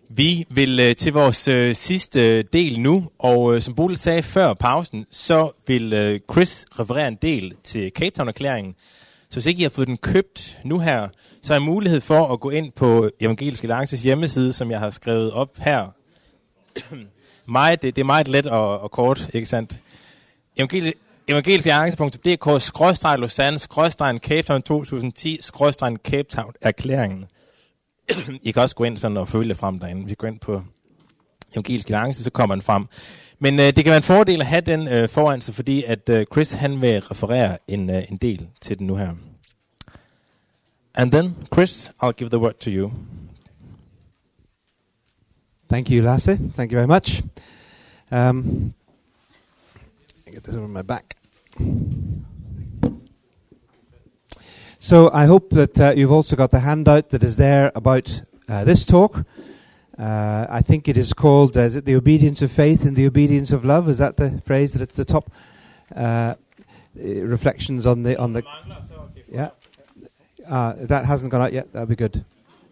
Vi vil til vores sidste del nu, og som Bodil sagde før pausen, så vil Chris referere en del til Cape Town-erklæringen. Så hvis ikke I har fået den købt nu her, så er der mulighed for at gå ind på Evangelisk Alliances hjemmeside, som jeg har skrevet op her. Det er meget let og kort, ikke sandt? evangeliskalarance.dk/Lausanne/Cape Town 2010/Cape Town-erklæringen. I kan også gå ind sådan og følge det frem derinde. Vi går ind på Evangelisk Alliance, så kommer den frem. Men det kan være en fordel at have den foran sig, fordi at Chris han vil referere en del til den nu her. And then, Chris, I'll give the word to you. Thank you, Lasse. Thank you very much. I get this over my back. So I hope that you've also got the handout that is there about this talk. I think it is called, is it the obedience of faith and the obedience of love? Is that the phrase that it's the top? Reflections on the yeah. That hasn't gone out yet. That'll be good.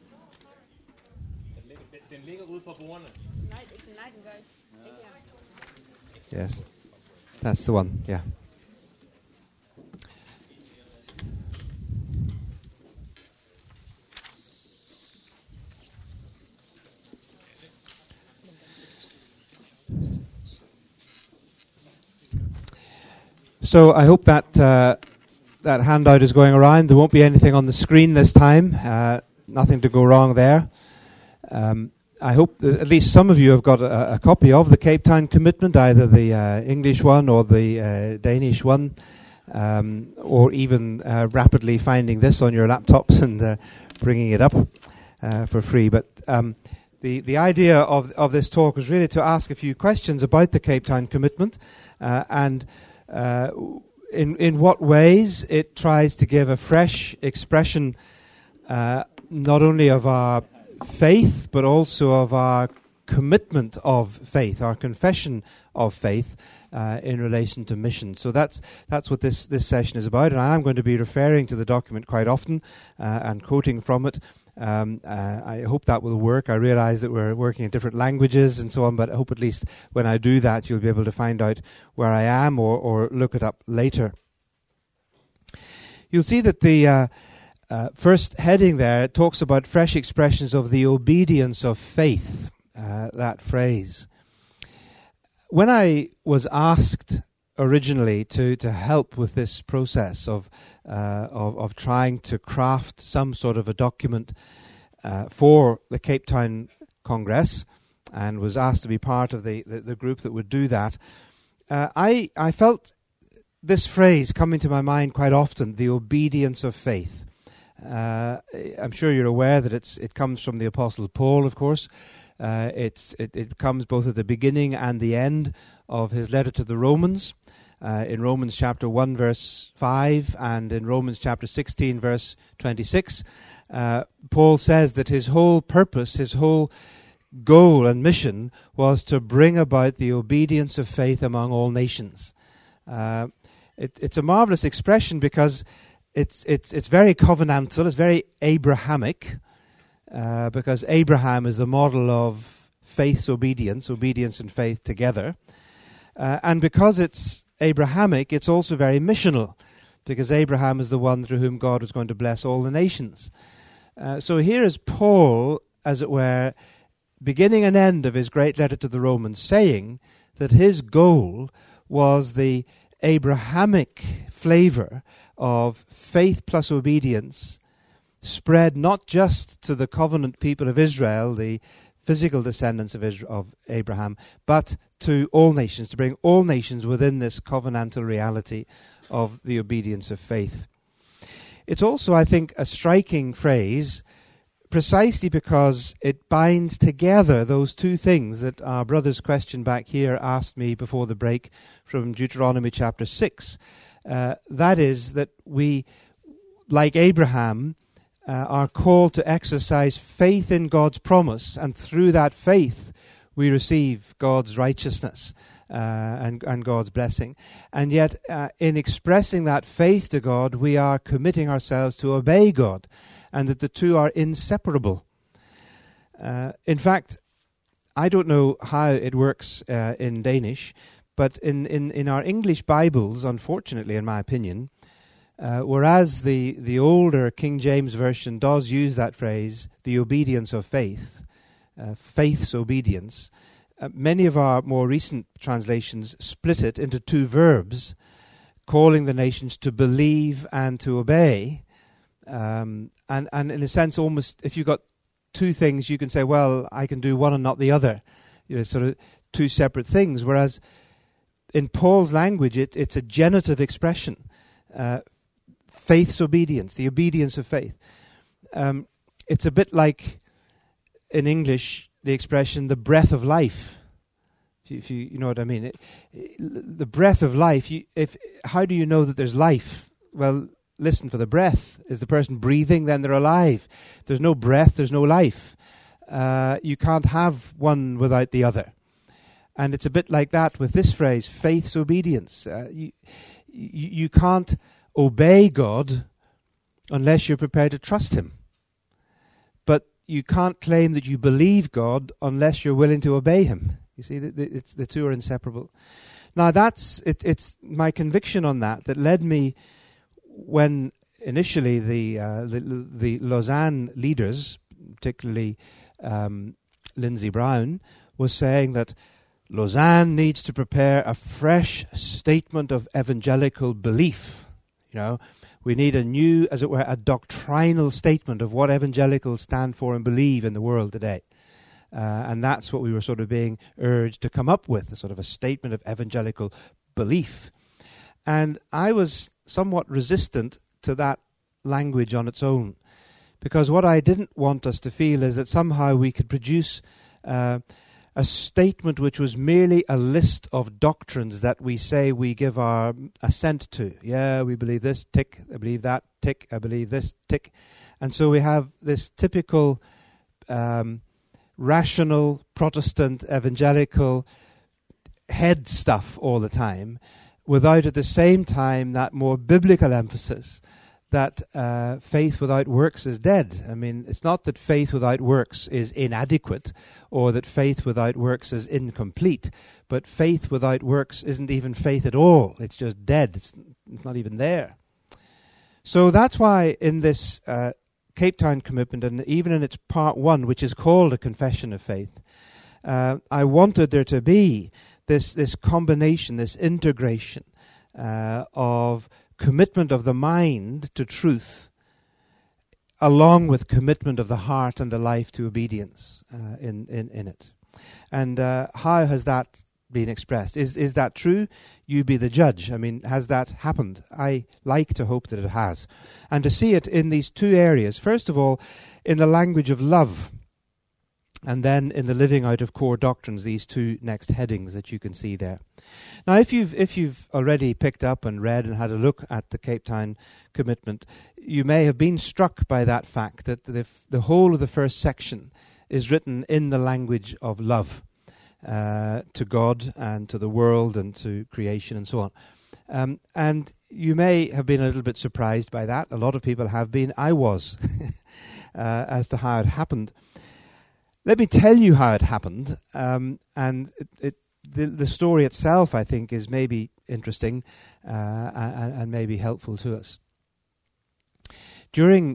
Yes, that's the one. Yeah. So I hope that that handout is going around. There won't be anything on the screen this time. Nothing to go wrong there. I hope that at least some of you have got a copy of the Cape Town Commitment, either the English one or the Danish one, or even rapidly finding this on your laptops and bringing it up for free. But the idea of this talk was really to ask a few questions about the Cape Town Commitment and in what ways it tries to give a fresh expression not only of our faith but also of our commitment of faith, our confession of faith in relation to mission. So that's what this session is about, and I am going to be referring to the document quite often and quoting from it. I hope that will work. I realize that we're working in different languages and so on, but I hope at least when I do that you'll be able to find out where I am or look it up later. You'll see that the first heading there talks about fresh expressions of the obedience of faith, that phrase. When I was asked originally to help with this process of trying to craft some sort of a document for the Cape Town Congress, and was asked to be part of the group that would do that, I felt this phrase coming to my mind quite often, the obedience of faith. I'm sure you're aware that it comes from the Apostle Paul, of course. It comes both at the beginning and the end of his letter to the Romans, in Romans chapter 1 verse 5 and in Romans chapter 16 verse 26. Paul says that his whole purpose, his whole goal and mission was to bring about the obedience of faith among all nations. It's a marvelous expression because it's very covenantal, it's very Abrahamic, because Abraham is the model of faith's obedience and faith together. And because it's Abrahamic, it's also very missional, because Abraham is the one through whom God was going to bless all the nations. So here is Paul, as it were, beginning and end of his great letter to the Romans, saying that his goal was the Abrahamic flavor of faith plus obedience spread not just to the covenant people of Israel, the physical descendants of Abraham, but to all nations, to bring all nations within this covenantal reality of the obedience of faith. It's also, I think, a striking phrase precisely because it binds together those two things that our brother's question back here asked me before the break from Deuteronomy chapter 6. That is that we, like Abraham, are called to exercise faith in God's promise, and through that faith we receive God's righteousness and God's blessing. And yet, in expressing that faith to God, we are committing ourselves to obey God, and that the two are inseparable. In fact, I don't know how it works in Danish, but in our English Bibles, unfortunately, in my opinion, whereas the older King James Version does use that phrase, the obedience of faith, faith's obedience, many of our more recent translations split it into two verbs, calling the nations to believe and to obey. And in a sense, almost, if you've got two things, you can say, well, I can do one and not the other. Sort of two separate things. Whereas in Paul's language, it's a genitive expression. Faith's obedience, the obedience of faith. It's a bit like, in English, the expression, the breath of life. If you know what I mean. The breath of life, how do you know that there's life? Well, listen for the breath. Is the person breathing? Then they're alive. If there's no breath, there's no life. You can't have one without the other. And it's a bit like that with this phrase, faith's obedience. You can't obey God unless you're prepared to trust Him. But you can't claim that you believe God unless you're willing to obey Him. You see, the two are inseparable. Now, it's my conviction on that led me, when initially the Lausanne leaders, particularly Lindsey Brown, was saying that Lausanne needs to prepare a fresh statement of evangelical belief. We need a new, as it were, a doctrinal statement of what evangelicals stand for and believe in the world today. And that's what we were sort of being urged to come up with, a sort of a statement of evangelical belief. And I was somewhat resistant to that language on its own, because what I didn't want us to feel is that somehow we could produce a statement which was merely a list of doctrines that we say we give our assent to. Yeah, we believe this, tick, I believe that, tick, I believe this, tick. And so we have this typical rational Protestant evangelical head stuff all the time, without at the same time that more biblical emphasis that faith without works is dead. I mean, it's not that faith without works is inadequate or that faith without works is incomplete, but faith without works isn't even faith at all. It's just dead. It's not even there. So that's why in this Cape Town commitment, and even in its part 1, which is called a confession of faith, I wanted there to be this combination, this integration of commitment of the mind to truth, along with commitment of the heart and the life to obedience in it. And how has that been expressed? Is that true? You be the judge. I mean, has that happened? I like to hope that it has. And to see it in these two areas. First of all, in the language of love, and then in the living out of core doctrines, these two next headings that you can see there. Now, if you've already picked up and read and had a look at the Cape Town commitment, you may have been struck by that fact that the whole of the first section is written in the language of love to God and to the world and to creation and so on. And you may have been a little bit surprised by that. A lot of people have been. I was, as to how it happened. Let me tell you how it happened, and the story itself, I think, is maybe interesting and maybe helpful to us. During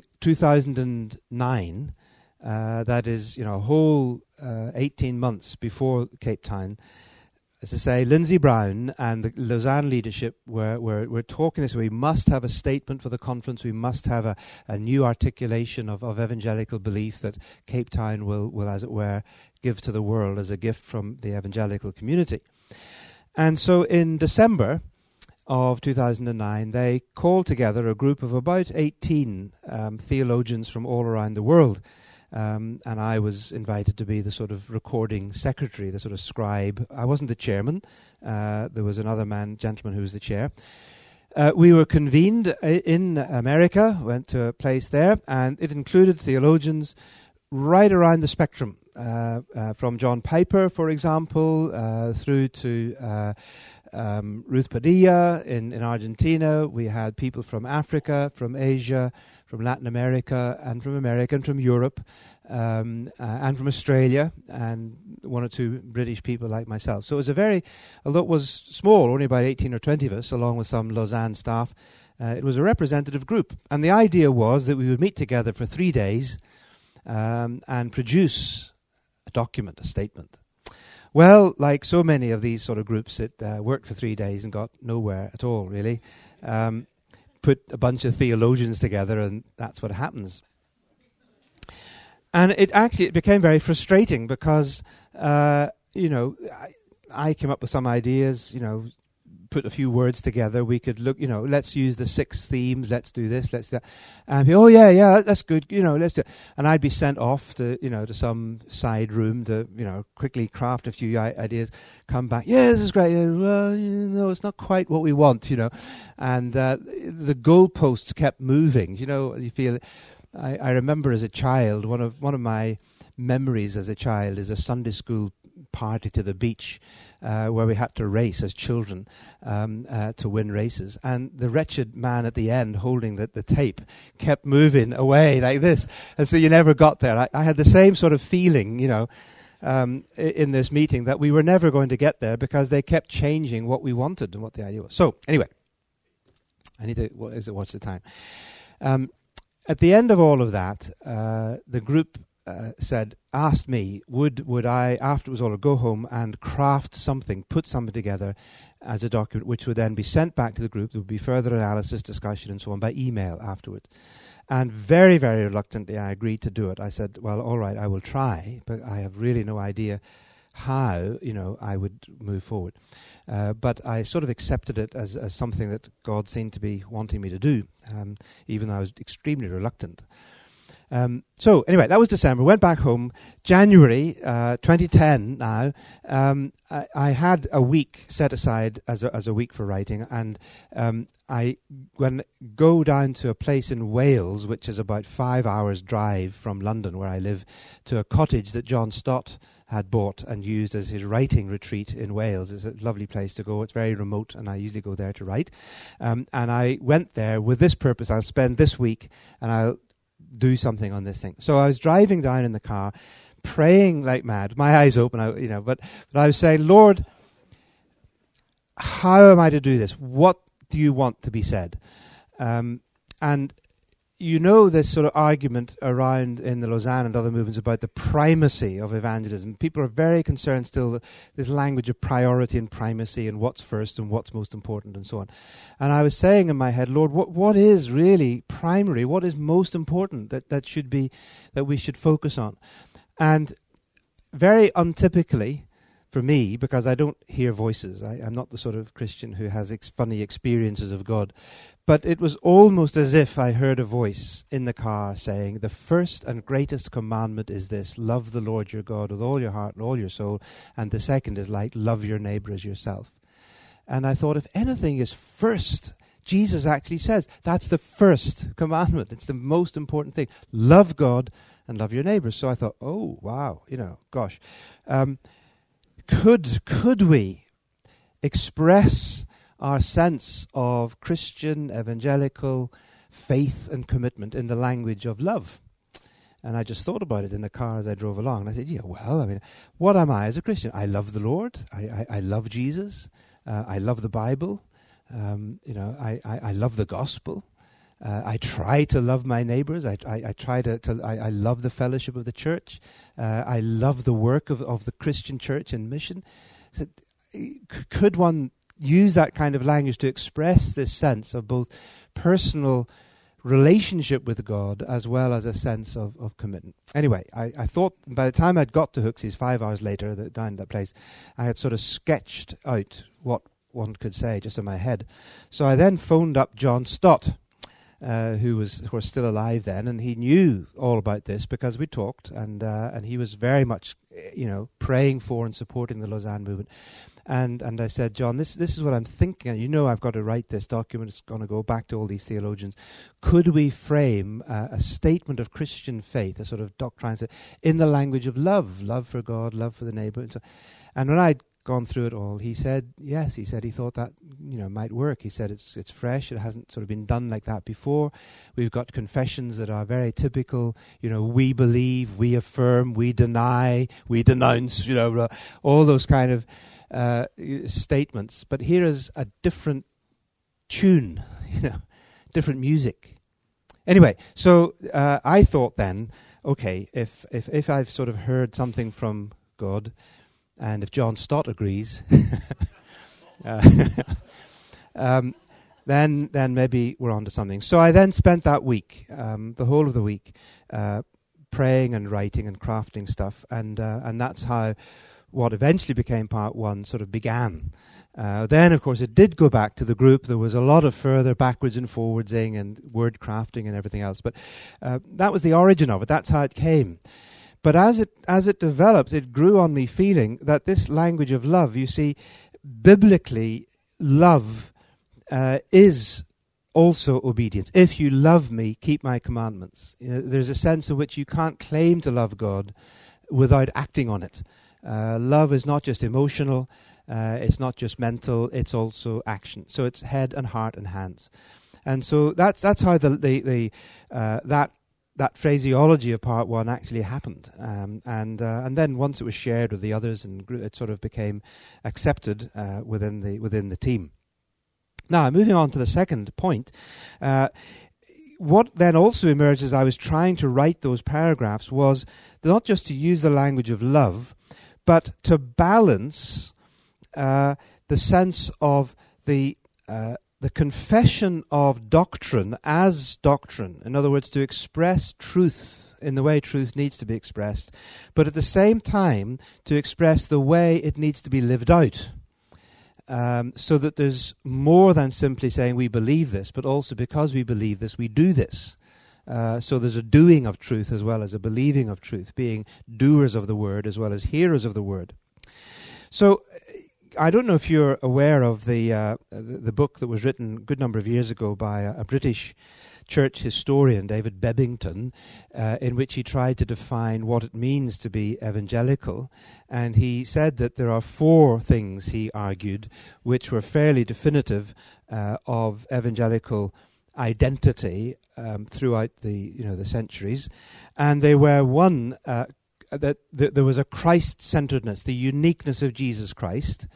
2009, that is, a whole 18 months before Cape Town, as I say, Lindsey Brown and the Lausanne leadership were talking this. We must have a statement for the conference. We must have a new articulation of evangelical belief that Cape Town will, as it were, give to the world as a gift from the evangelical community. And so in December of 2009, they called together a group of about 18 theologians from all around the world. And I was invited to be the sort of recording secretary, the sort of scribe. I wasn't the chairman. There was another gentleman who was the chair. We were convened in America, went to a place there, and it included theologians right around the spectrum, from John Piper, for example, through to Ruth Padilla in Argentina. We had people from Africa, from Asia, from Latin America, and from America, and from Europe, and from Australia, and one or two British people like myself. So it was although it was small, only about 18 or 20 of us, along with some Lausanne staff, it was a representative group. And the idea was that we would meet together for 3 days and produce a document, a statement. Well, like so many of these sort of groups, it worked for 3 days and got nowhere at all, really. Put a bunch of theologians together, and that's what happens. And it became very frustrating because, I came up with some ideas, put a few words together. We could look, let's use the 6 themes, let's do this, let's do that. And people, yeah, that's good, let's do it. And I'd be sent off to, to some side room to, quickly craft a few ideas, come back, yeah, this is great. Well, no, it's not quite what we want, And the goalposts kept moving, you feel. I remember as a child, one of my memories as a child is a Sunday school party to the beach where we had to race as children to win races. And the wretched man at the end holding the tape kept moving away like this. And so you never got there. I had the same sort of feeling, in this meeting that we were never going to get there because they kept changing what we wanted and what the idea was. So anyway, I need to watch the time. At the end of all of that, the group asked me, would I, after it was all, go home and craft something, put something together as a document, which would then be sent back to the group. There would be further analysis, discussion, and so on by email afterwards. And very, very reluctantly, I agreed to do it. I said, well, all right, I will try, but I have really no idea how, I would move forward. But I sort of accepted it as something that God seemed to be wanting me to do, even though I was extremely reluctant. So anyway, that was December. Went back home. January 2010 now, I had a week set aside as a week for writing, and I go down to a place in Wales, which is about 5 hours drive from London, where I live, to a cottage that John Stott had bought and used as his writing retreat in Wales. It's a lovely place to go. It's very remote, and I usually go there to write. And I went there with this purpose. I'll spend this week, and I'll do something on this thing. So I was driving down in the car, praying like mad, my eyes open, but I was saying, Lord, how am I to do this? What do you want to be said? And this sort of argument around in the Lausanne and other movements about the primacy of evangelism. People are very concerned still, this language of priority and primacy and what's first and what's most important and so on. And I was saying in my head, Lord, what is really primary? What is most important that we should focus on? And very untypically for me, because I don't hear voices, I'm not the sort of Christian who has funny experiences of God, but it was almost as if I heard a voice in the car saying, the first and greatest commandment is this: love the Lord your God with all your heart and all your soul. And the second is like, love your neighbor as yourself. And I thought, if anything is first, Jesus actually says that's the first commandment. It's the most important thing. Love God and love your neighbors. So I thought, oh, wow, gosh. Could we express our sense of Christian, evangelical faith and commitment in the language of love? And I just thought about it in the car as I drove along. And I said, what am I as a Christian? I love the Lord. I love Jesus. I love the Bible. I love the gospel. I try to love my neighbors. I love the fellowship of the church. I love the work of the Christian church and mission. So, could one use that kind of language to express this sense of both personal relationship with God as well as a sense of commitment? Anyway, I thought by the time I'd got to Hooksies 5 hours later down at that place, I had sort of sketched out what one could say just in my head. So I then phoned up John Stott, who was still alive then, and he knew all about this because we talked, and he was very much, praying for and supporting the Lausanne movement. And I said, John, this is what I'm thinking. I've got to write this document. It's going to go back to all these theologians. Could we frame a statement of Christian faith, a sort of doctrine, in the language of love for God, love for the neighbor, and so. And when I gone through it all, he said yes. He said he thought that might work. He said it's fresh. It hasn't sort of been done like that before. We've got confessions that are very typical. We believe, we affirm, we deny, we denounce. All those kind of statements. But here is a different tune. Different music. Anyway, so I thought then, okay, if I've sort of heard something from God, and if John Stott agrees, then maybe we're on to something. So I then spent that week, the whole of the week, praying and writing and crafting stuff, and that's how what eventually became part one sort of began. Then, of course, it did go back to the group. There was a lot of further backwards and forwardsing and word crafting and everything else. But that was the origin of it. That's how it came. But as it developed, it grew on me feeling that this language of love, you see, biblically, love is also obedience. If you love me, keep my commandments. There's a sense in which you can't claim to love God without acting on it. Love is not just emotional. It's not just mental, it's also action. So it's head and heart and hands. And so that's how that phraseology of part one actually happened. And then once it was shared with the others, and it sort of became accepted within the team. Now, moving on to the second point, what then also emerged as I was trying to write those paragraphs was not just to use the language of love, but to balance the sense of the confession of doctrine as doctrine. In other words, to express truth in the way truth needs to be expressed, but at the same time to express the way it needs to be lived out. So that there's more than simply saying we believe this, but also because we believe this, we do this. So there's a doing of truth as well as a believing of truth, being doers of the word as well as hearers of the word. So I don't know if you're aware of the book that was written a good number of years ago by a British church historian, David Bebbington, in which he tried to define what it means to be evangelical. And he said that there are 4 things, he argued, which were fairly definitive of evangelical identity throughout the centuries. And they were, one, that there was a Christ-centeredness, the uniqueness of Jesus Christ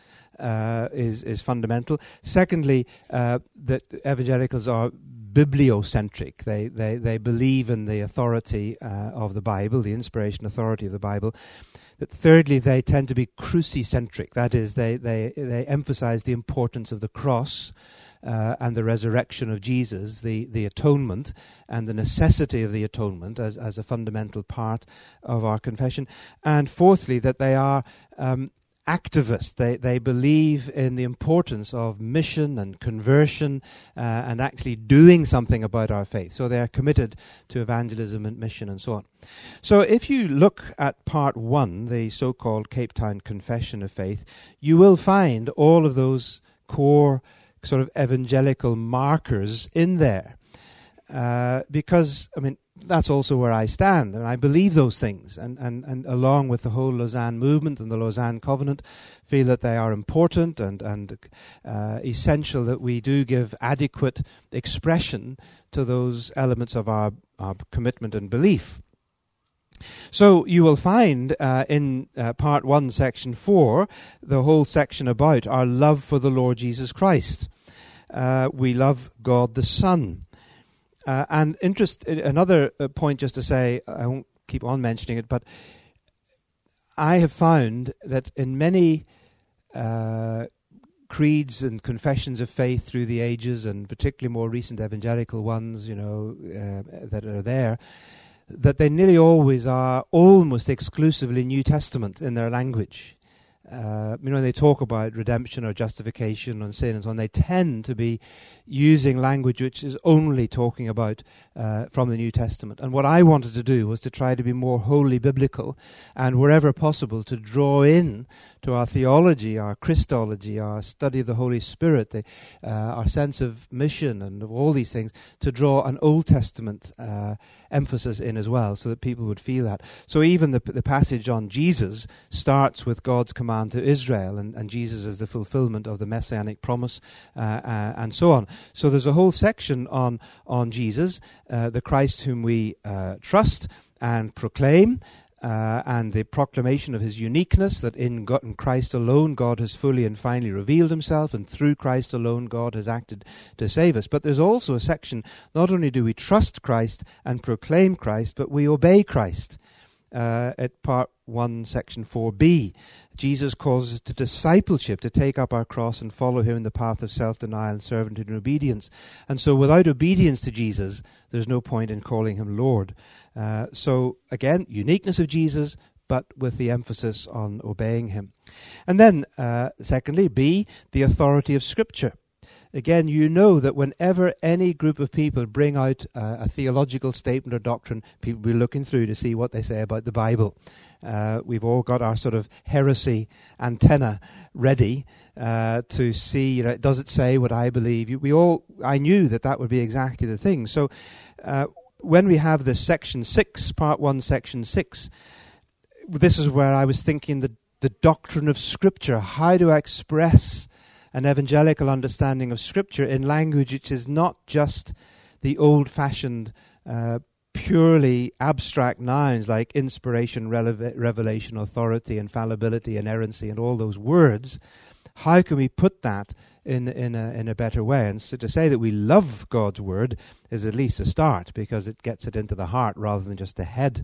is fundamental. Secondly, that evangelicals are bibliocentric. They believe in the authority of the Bible, the inspiration authority of the Bible. That thirdly, they tend to be crucicentric. That is, they emphasize the importance of the cross and the resurrection of Jesus, the atonement, and the necessity of the atonement as a fundamental part of our confession. And fourthly, that they are activist. They believe in the importance of mission and conversion and actually doing something about our faith. So they are committed to evangelism and mission and so on. So if you look at part one, the so-called Cape Town Confession of Faith, you will find all of those core sort of evangelical markers in there. Because, I mean, that's also where I stand, and I believe those things, and along with the whole Lausanne movement and the Lausanne Covenant, feel that they are important and essential that we do give adequate expression to those elements of our commitment and belief. So you will find in part 1, section 4, the whole section about our love for the Lord Jesus Christ. We love God the Son. And another point just to say, I won't keep on mentioning it, but I have found that in many creeds and confessions of faith through the ages, and particularly more recent evangelical ones, that are there, that they nearly always are almost exclusively New Testament in their language. When they talk about redemption or justification and sin and so on, they tend to be using language which is only talking about from the New Testament. And what I wanted to do was to try to be more wholly biblical, and wherever possible to draw in to our theology, our Christology, our study of the Holy Spirit, our sense of mission and of all these things, to draw an Old Testament emphasis in as well, so that people would feel that. So even the passage on Jesus starts with God's command man to Israel, and Jesus is the fulfillment of the messianic promise, and so on. So there's a whole section on Jesus, the Christ whom we trust and proclaim, and the proclamation of his uniqueness, that in Christ alone God has fully and finally revealed himself, and through Christ alone God has acted to save us. But there's also a section, not only do we trust Christ and proclaim Christ, but we obey Christ. At part 1, section 4b, Jesus calls us to discipleship, to take up our cross and follow him in the path of self-denial and servitude and obedience. And so without obedience to Jesus, there's no point in calling him Lord. So again, uniqueness of Jesus, but with the emphasis on obeying him. And then, secondly, B, the authority of Scripture. Again, you know that whenever any group of people bring out a theological statement or doctrine, people will be looking through to see what they say about the Bible. We've all got our sort of heresy antenna ready to see, does it say what I believe? I knew that would be exactly the thing. So when we have this section 6, part 1, section 6, this is where I was thinking the doctrine of Scripture. How do I express an evangelical understanding of Scripture in language which is not just the old-fashioned, purely abstract nouns like inspiration, revelation, authority, infallibility, inerrancy, and all those words? How can we put that in a better way? And so to say that we love God's word is at least a start, because it gets it into the heart rather than just the head.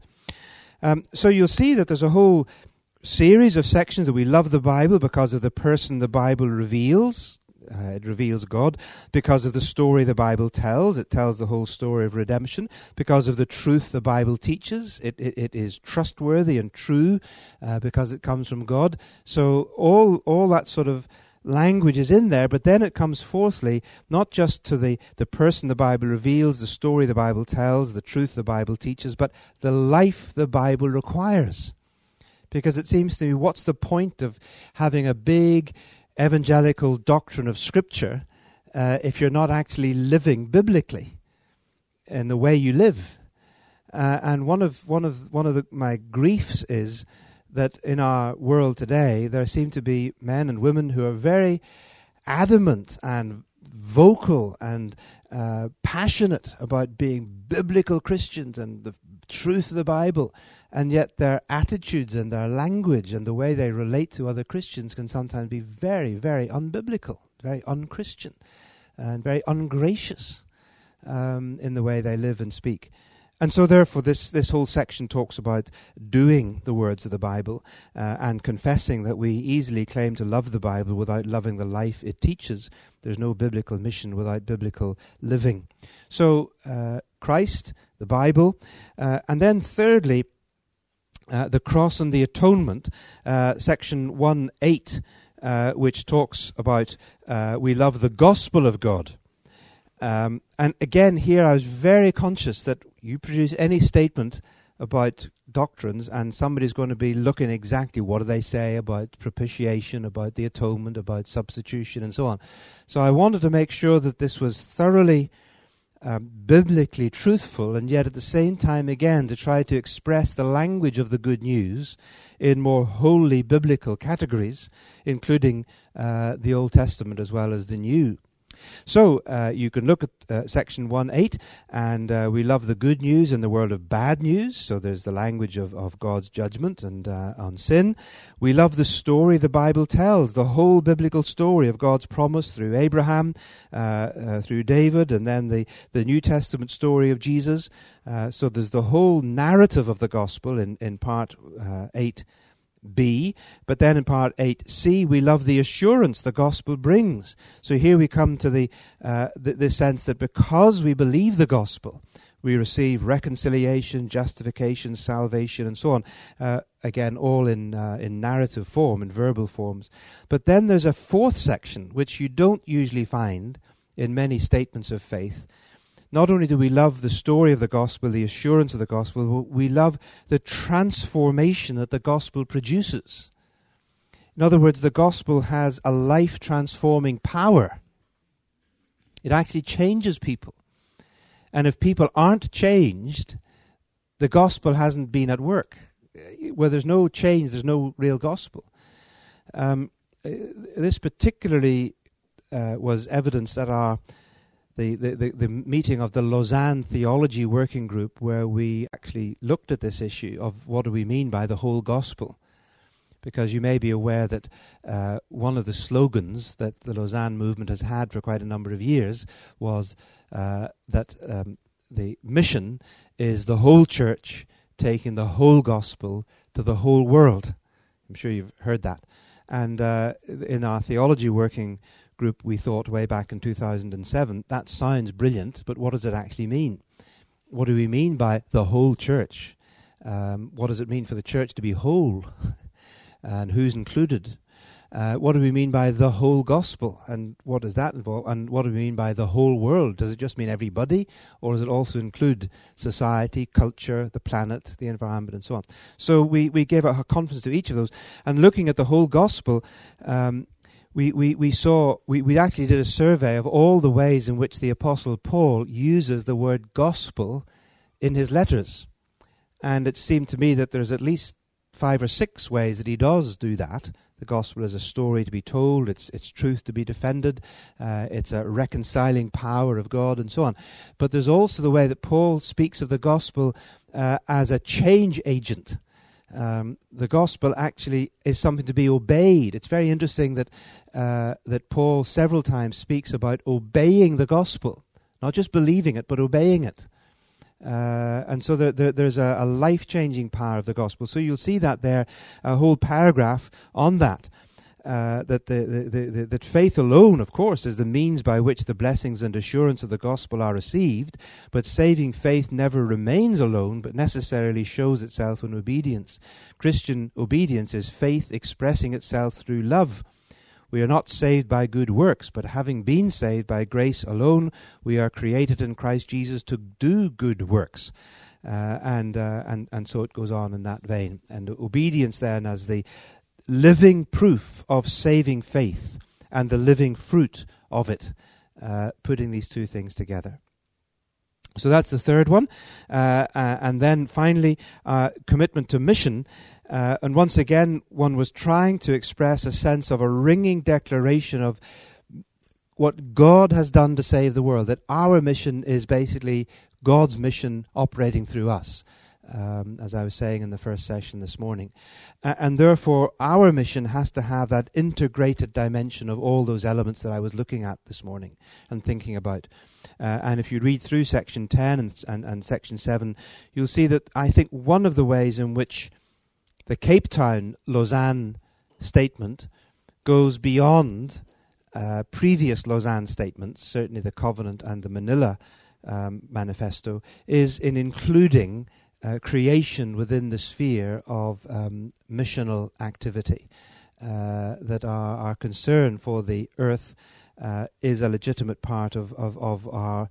So you'll see that there's a whole series of sections that we love the Bible because of the person the Bible reveals. It reveals God. Because of the story the Bible tells. It tells the whole story of redemption. Because of the truth the Bible teaches. It is trustworthy and true because it comes from God. So all that sort of language is in there, but then it comes fourthly, not just to the person the Bible reveals, the story the Bible tells, the truth the Bible teaches, but the life the Bible requires. Because it seems to me, what's the point of having a big evangelical doctrine of Scripture if you're not actually living biblically in the way you live? And one of my griefs is that in our world today, there seem to be men and women who are very adamant and vocal and passionate about being biblical Christians and the truth of the Bible, and yet their attitudes and their language and the way they relate to other Christians can sometimes be very, very unbiblical, very unchristian, and very ungracious in the way they live and speak. And so therefore this whole section talks about doing the words of the Bible and confessing that we easily claim to love the Bible without loving the life it teaches. There's no biblical mission without biblical living. So Christ, the Bible, and then thirdly, the cross and the atonement, section 1:8, which talks about we love the gospel of God. And again, here I was very conscious that you produce any statement about doctrines and somebody's going to be looking exactly what do they say about propitiation, about the atonement, about substitution, and so on. So I wanted to make sure that this was thoroughly biblically truthful, and yet at the same time, again, to try to express the language of the good news in more wholly biblical categories, including the Old Testament as well as the New. So you can look at section 1:8, and we love the good news in the world of bad news. So there's the language of God's judgment and on sin. We love the story the Bible tells, the whole biblical story of God's promise through Abraham, through David, and then the New Testament story of Jesus. So there's the whole narrative of the gospel in part 8b, but then in part 8c we love the assurance the gospel brings. So here we come to the sense that because we believe the gospel, we receive reconciliation, justification, salvation, and so on. Again, all in narrative form, in verbal forms. But then there's a fourth section, which you don't usually find in many statements of faith. Not only do we love the story of the gospel, the assurance of the gospel, we love the transformation that the gospel produces. In other words, the gospel has a life-transforming power. It actually changes people. And if people aren't changed, the gospel hasn't been at work. Where there's no change, there's no real gospel. This particularly was evidenced at the meeting of the Lausanne Theology Working Group, where we actually looked at this issue of what do we mean by the whole gospel. Because you may be aware that one of the slogans that the Lausanne movement has had for quite a number of years was that the mission is the whole church taking the whole gospel to the whole world. I'm sure you've heard that. And in our theology working group, we thought way back in 2007, that sounds brilliant, but what does it actually mean? What do we mean by the whole church? What does it mean for the church to be whole? And who's included? What do we mean by the whole gospel? And what does that involve? And what do we mean by the whole world? Does it just mean everybody? Or does it also include society, culture, the planet, the environment, and so on? So we gave a conference to each of those. And looking at the whole gospel, we saw, we actually did a survey of all the ways in which the Apostle Paul uses the word gospel in his letters. And it seemed to me that there's at least 5 or 6 ways that he does do that. The gospel is a story to be told, it's truth to be defended, it's a reconciling power of God, and so on. But there's also the way that Paul speaks of the gospel as a change agent. The gospel actually is something to be obeyed. It's very interesting that that Paul several times speaks about obeying the gospel, not just believing it, but obeying it. And so there's a life-changing power of the gospel. So you'll see that there, a whole paragraph on that. That faith alone, of course, is the means by which the blessings and assurance of the gospel are received, but saving faith never remains alone, but necessarily shows itself in obedience. Christian obedience is faith expressing itself through love. We are not saved by good works, but having been saved by grace alone, we are created in Christ Jesus to do good works. And so it goes on in that vein. And obedience then as the living proof of saving faith and the living fruit of it, putting these two things together. So that's the third one. And then finally, commitment to mission. And once again, one was trying to express a sense of a ringing declaration of what God has done to save the world, that our mission is basically God's mission operating through us, as I was saying in the first session this morning. And therefore, our mission has to have that integrated dimension of all those elements that I was looking at this morning and thinking about. And if you read through section 10 and section 7, you'll see that I think one of the ways in which the Cape Town Lausanne statement goes beyond previous Lausanne statements, certainly the Covenant and the Manila Manifesto, is in including creation within the sphere of missional activity. That our concern for the earth is a legitimate part of our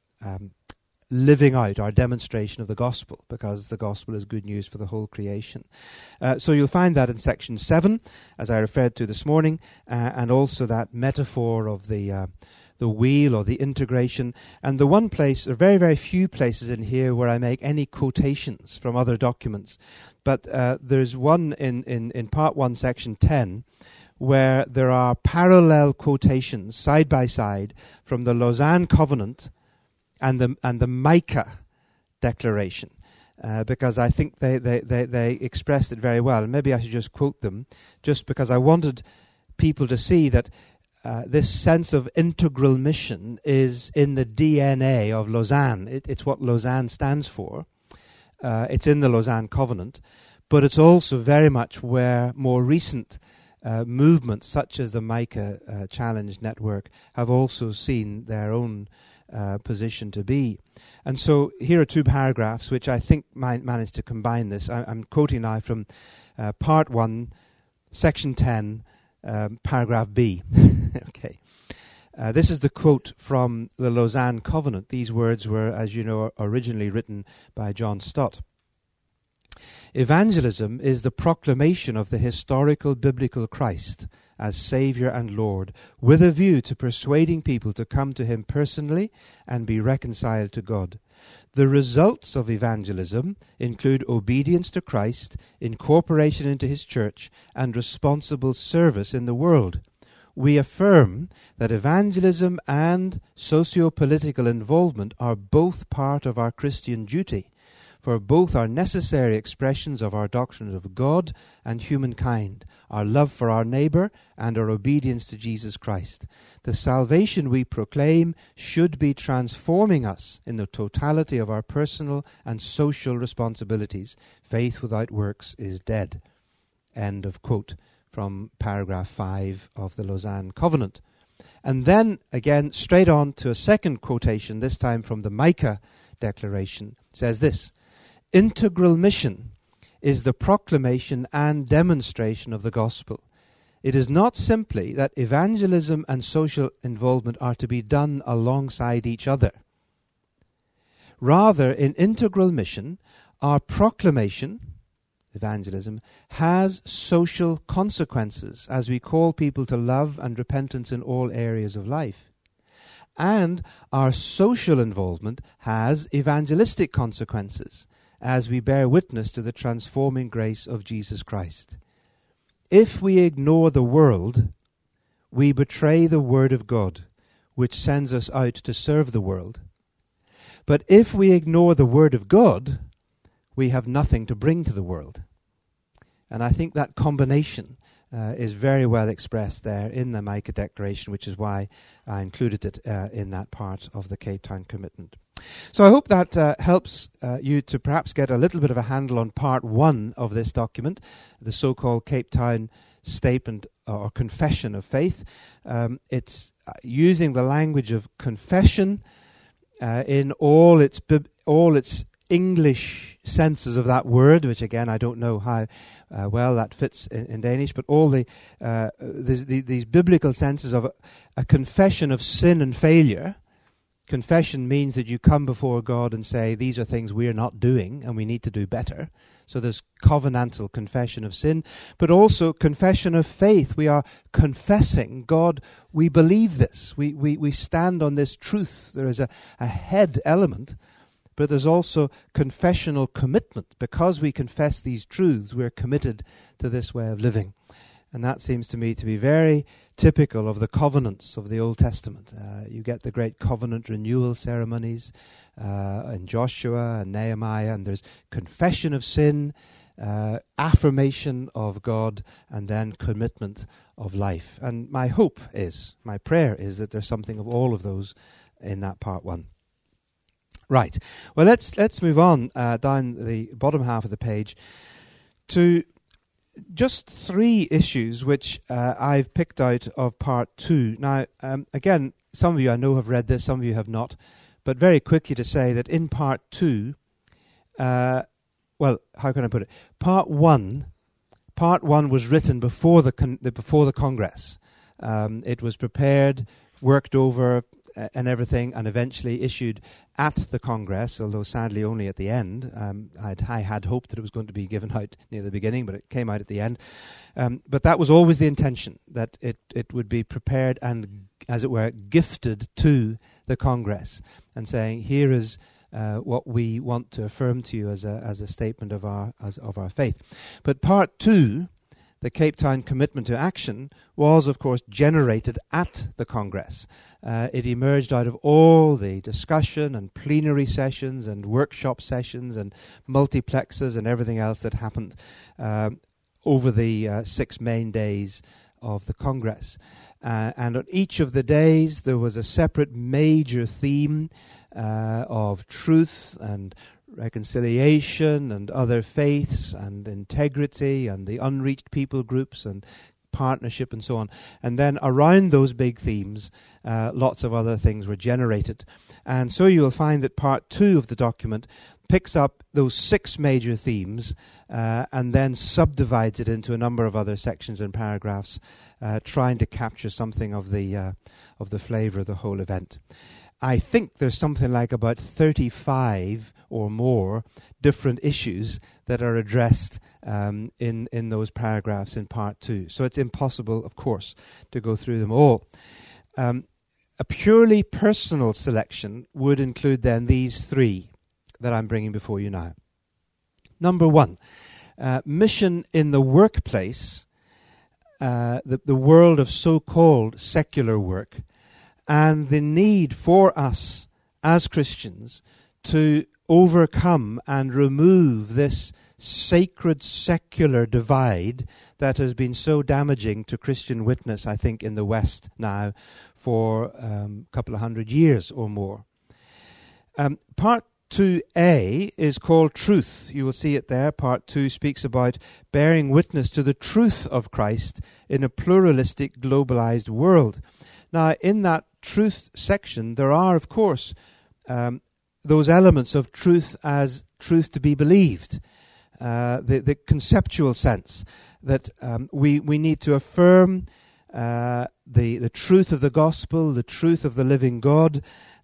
living out, our demonstration of the gospel, because the gospel is good news for the whole creation. So you'll find that in section 7, as I referred to this morning, and also that metaphor of the wheel or the integration. And the one place, there are very, very few places in here where I make any quotations from other documents. But there's one in part 1, section 10, where there are parallel quotations side by side from the Lausanne Covenant and the Micah Declaration, because I think they expressed it very well. And maybe I should just quote them, just because I wanted people to see that this sense of integral mission is in the DNA of Lausanne. It's what Lausanne stands for. It's in the Lausanne Covenant, but it's also very much where more recent movements, such as the Micah Challenge Network, have also seen their own position to be. And so here are 2 paragraphs which I think managed to combine this. I'm quoting now from part 1, section 10, paragraph B. Okay. This is the quote from the Lausanne Covenant. These words were, as you know, originally written by John Stott. Evangelism is the proclamation of the historical biblical Christ as Saviour and Lord, with a view to persuading people to come to him personally and be reconciled to God. The results of evangelism include obedience to Christ, incorporation into his church, and responsible service in the world. We affirm that evangelism and socio-political involvement are both part of our Christian duty, for both are necessary expressions of our doctrine of God and humankind, our love for our neighbour, and our obedience to Jesus Christ. The salvation we proclaim should be transforming us in the totality of our personal and social responsibilities. Faith without works is dead. End of quote from paragraph 5 of the Lausanne Covenant. And then, again, straight on to a second quotation, this time from the Micah Declaration, says this: "Integral mission is the proclamation and demonstration of the gospel. It is not simply that evangelism and social involvement are to be done alongside each other. Rather, in integral mission, our proclamation, evangelism, has social consequences as we call people to love and repentance in all areas of life. And our social involvement has evangelistic consequences as we bear witness to the transforming grace of Jesus Christ. If we ignore the world, we betray the word of God, which sends us out to serve the world. But if we ignore the word of God, we have nothing to bring to the world." And I think that combination is very well expressed there in the Micah Declaration, which is why I included it in that part of the Cape Town Commitment. So I hope that helps you to perhaps get a little bit of a handle on part 1 of this document, the so-called Cape Town Statement or Confession of Faith. It's using the language of confession in all its English senses of that word, which again I don't know how well that fits in Danish, but all these biblical senses of a confession of sin and failure. Confession means that you come before God and say, these are things we are not doing and we need to do better. So there's covenantal confession of sin, but also confession of faith. We are confessing, God, we believe this. We stand on this truth. There is a head element, but there's also confessional commitment. Because we confess these truths, we're committed to this way of living. And that seems to me to be very typical of the covenants of the Old Testament. You get the great covenant renewal ceremonies in Joshua and Nehemiah, and there's confession of sin, affirmation of God, and then commitment of life. And my hope is, my prayer is that there's something of all of those in that part 1. Right. Well, let's move on down the bottom half of the page to just 3 issues which I've picked out of part 2. Now, again, some of you I know have read this, some of you have not, but very quickly to say that in part 2, well, how can I put it? Part 1 was written before the Congress. It was prepared, worked over, and everything, and eventually issued at the Congress, although sadly only at the end. I had hoped that it was going to be given out near the beginning, but it came out at the end. But that was always the intention, that it would be prepared and, as it were, gifted to the Congress, and saying, here is what we want to affirm to you as a statement of our faith. But part 2, the Cape Town Commitment to Action, was, of course, generated at the Congress. It emerged out of all the discussion and plenary sessions and workshop sessions and multiplexes and everything else that happened over the 6 main days of the Congress. And on each of the days there was a separate major theme of truth and reconciliation and other faiths and integrity and the unreached people groups and partnership and so on. And then around those big themes, lots of other things were generated. And so you'll find that part 2 of the document picks up those 6 major themes and then subdivides it into a number of other sections and paragraphs, trying to capture something of the flavor of the whole event. I think there's something like about 35 or more different issues that are addressed in those paragraphs in part 2. So it's impossible, of course, to go through them all. A purely personal selection would include then these 3. that I'm bringing before you now. Number one, mission in the workplace, the world of so-called secular work, and the need for us as Christians to overcome and remove this sacred secular divide that has been so damaging to Christian witness, I think, in the West now for a couple of 100 years or more. Part 2a is called Truth. You will see it there. Part 2 speaks about bearing witness to the truth of Christ in a pluralistic, globalized world. Now, in that truth section, there are, of course, those elements of truth as truth to be believed. The conceptual sense that we need to affirm the truth of the gospel, the truth of the living God,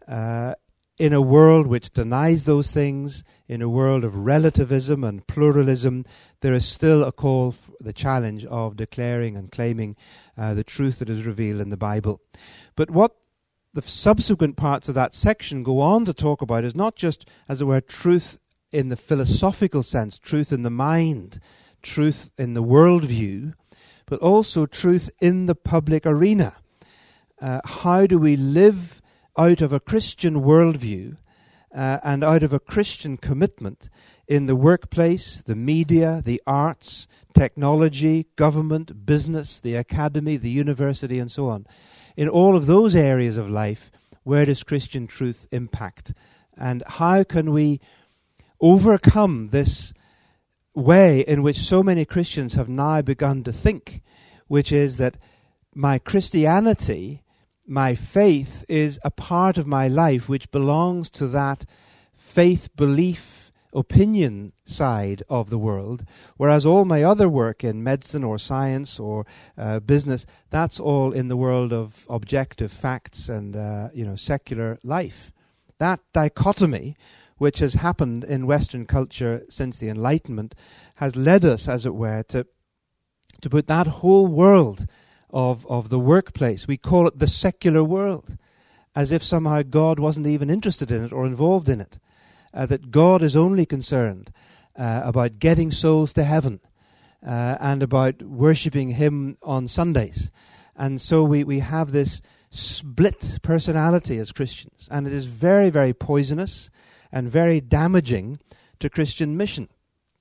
in a world which denies those things, in a world of relativism and pluralism. There is still a call for the challenge of declaring and claiming the truth that is revealed in the Bible. But what the subsequent parts of that section go on to talk about is not just, as it were, truth in the philosophical sense, truth in the mind, truth in the worldview, but also truth in the public arena. How do we live out of a Christian worldview and out of a Christian commitment in the workplace, the media, the arts, technology, government, business, the academy, the university, and so on? In all of those areas of life, where does Christian truth impact? And how can we overcome this way in which so many Christians have now begun to think, which is that my Christianity, my faith, is a part of my life which belongs to that faith, belief, opinion side of the world, whereas all my other work in medicine or science or business, that's all in the world of objective facts and secular life. That dichotomy, which has happened in Western culture since the Enlightenment, has led us, as it were, to put that whole world of the workplace, we call it the secular world, as if somehow God wasn't even interested in it or involved in it. That God is only concerned about getting souls to heaven and about worshipping Him on Sundays. And so we have this split personality as Christians, and it is very, very poisonous and very damaging to Christian mission.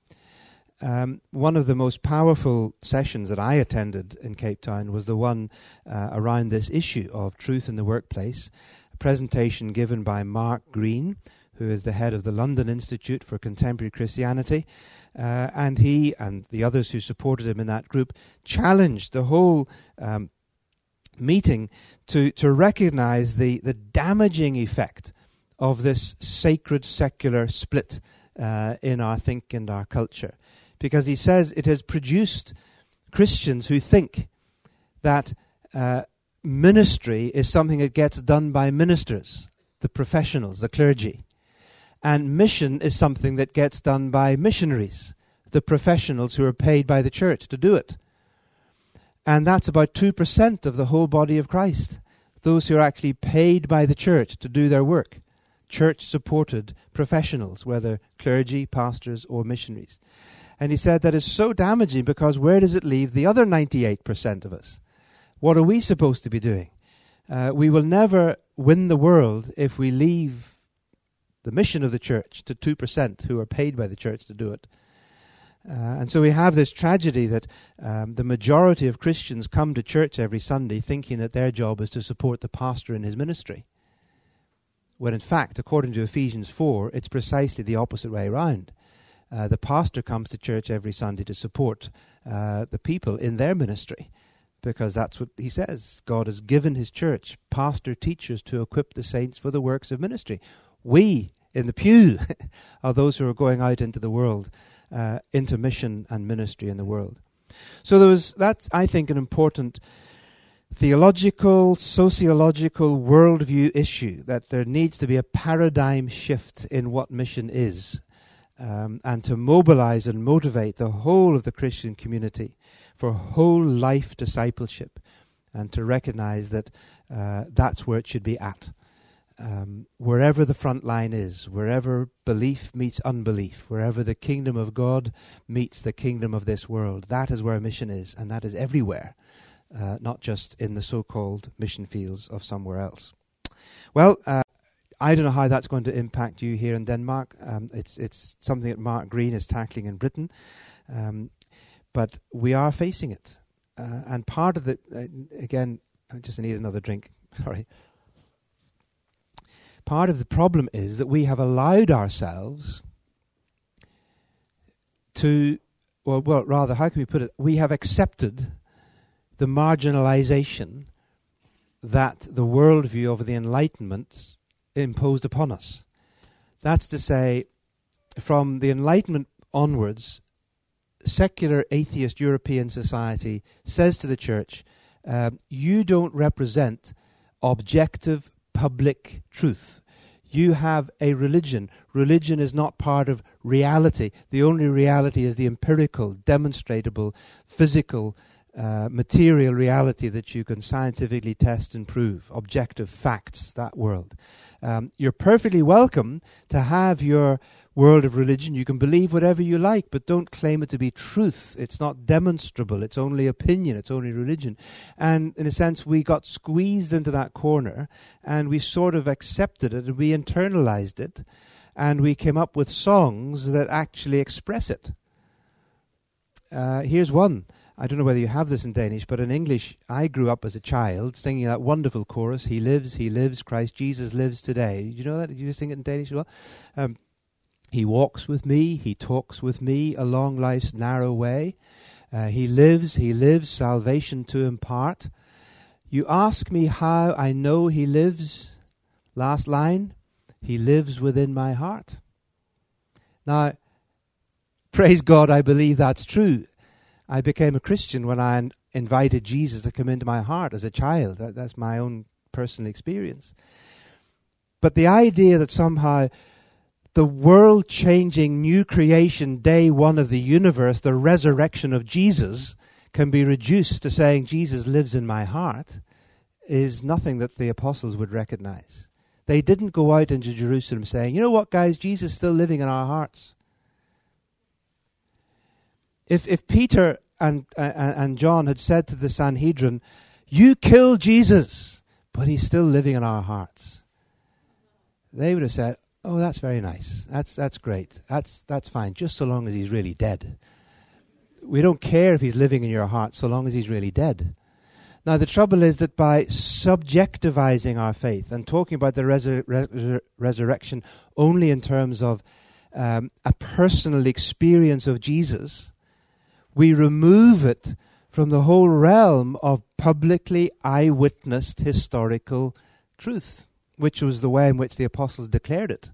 One of the most powerful sessions that I attended in Cape Town was the one around this issue of truth in the workplace, a presentation given by Mark Green, who is the head of the London Institute for Contemporary Christianity, and he and the others who supported him in that group challenged the whole meeting to recognize the damaging effect of this sacred secular split in our think and our culture. Because he says it has produced Christians who think that ministry is something that gets done by ministers, the professionals, the clergy. And mission is something that gets done by missionaries, the professionals who are paid by the church to do it. And that's about 2% of the whole body of Christ, those who are actually paid by the church to do their work. Church-supported professionals, whether clergy, pastors, or missionaries. And he said that is so damaging because where does it leave the other 98% of us? What are we supposed to be doing? We will never win the world if we leave the mission of the church to 2% who are paid by the church to do it. And so we have this tragedy that the majority of Christians come to church every Sunday thinking that their job is to support the pastor in his ministry. When in fact, according to Ephesians 4, it's precisely the opposite way around. The pastor comes to church every Sunday to support the people in their ministry, because that's what he says. God has given his church pastor teachers to equip the saints for the works of ministry. We, in the pew, are those who are going out into the world, into mission and ministry in the world. So that's, I think, an important theological, sociological, worldview issue, that there needs to be a paradigm shift in what mission is, and to mobilize and motivate the whole of the Christian community for whole life discipleship, and to recognize that that's where it should be at. wherever the front line is, wherever belief meets unbelief, wherever the kingdom of God meets the kingdom of this world. That is where mission is, and that is everywhere, not just in the so-called mission fields of somewhere else. Well, I don't know how that's going to impact you here in Denmark. It's something that Mark Green is tackling in Britain, but we are facing it. And part of it, again, I just need another drink, sorry. Part of the problem is that we have allowed ourselves to, well, rather, how can we put it? We have accepted the marginalization that the worldview of the Enlightenment imposed upon us. That's to say, from the Enlightenment onwards, secular atheist European society says to the church, you don't represent objective public truth. You have a religion. Religion is not part of reality. The only reality is the empirical, demonstrable, physical, material reality that you can scientifically test and prove. Objective facts, that world. You're perfectly welcome to have your world of religion. You can believe whatever you like, but don't claim it to be truth. It's not demonstrable. It's only opinion. It's only religion. And in a sense, we got squeezed into that corner, and we sort of accepted it, and we internalized it, and we came up with songs that actually express it. Here's one. I don't know whether you have this in Danish, but in English, I grew up as a child singing that wonderful chorus, He lives, Christ Jesus lives today. You know that? Did you sing it in Danish as well? He walks with me, he talks with me along life's narrow way. He lives, salvation to impart. You ask me how I know he lives. Last line, he lives within my heart. Now, praise God, I believe that's true. I became a Christian when I invited Jesus to come into my heart as a child. That's my own personal experience. But the idea that somehow the world-changing new creation, day one of the universe, the resurrection of Jesus, can be reduced to saying Jesus lives in my heart is nothing that the apostles would recognize. They didn't go out into Jerusalem saying, you know what, guys, Jesus is still living in our hearts. If Peter and John had said to the Sanhedrin, you killed Jesus, but he's still living in our hearts, they would have said, oh, that's very nice. That's great. That's fine, just so long as he's really dead. We don't care if he's living in your heart so long as he's really dead. Now, the trouble is that by subjectivizing our faith and talking about the resurrection only in terms of a personal experience of Jesus, we remove it from the whole realm of publicly eyewitnessed historical truth, which was the way in which the apostles declared it.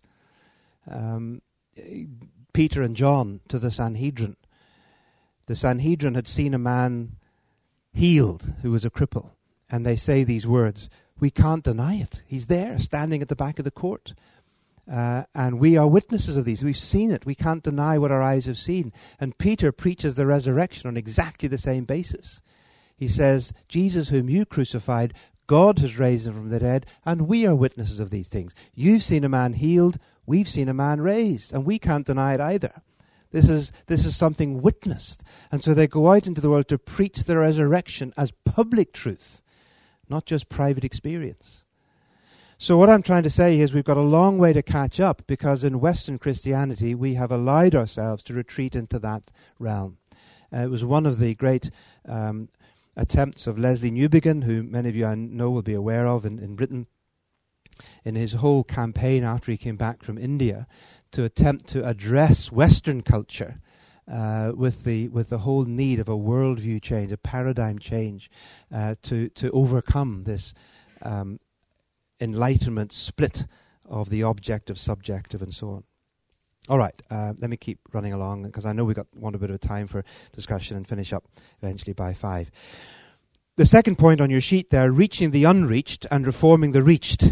Peter and John to the Sanhedrin. The Sanhedrin had seen a man healed who was a cripple, and they say these words, we can't deny it. He's there, standing at the back of the court. And we are witnesses of these. We've seen it. We can't deny what our eyes have seen. And Peter preaches the resurrection on exactly the same basis. He says, Jesus whom you crucified, God has raised him from the dead, and we are witnesses of these things. You've seen a man healed, we've seen a man raised, and we can't deny it either. This is something witnessed. And so they go out into the world to preach the resurrection as public truth, not just private experience. So what I'm trying to say is we've got a long way to catch up, because in Western Christianity we have allowed ourselves to retreat into that realm. It was one of the great attempts of Leslie Newbigin, who many of you I know will be aware of in Britain, in his whole campaign after he came back from India, to attempt to address Western culture with the whole need of a worldview change, a paradigm change, to overcome this enlightenment split of the objective, subjective, and so on. All right, let me keep running along, because I know we want a bit of time for discussion and finish up eventually by 5. The second point on your sheet there, reaching the unreached and reforming the reached,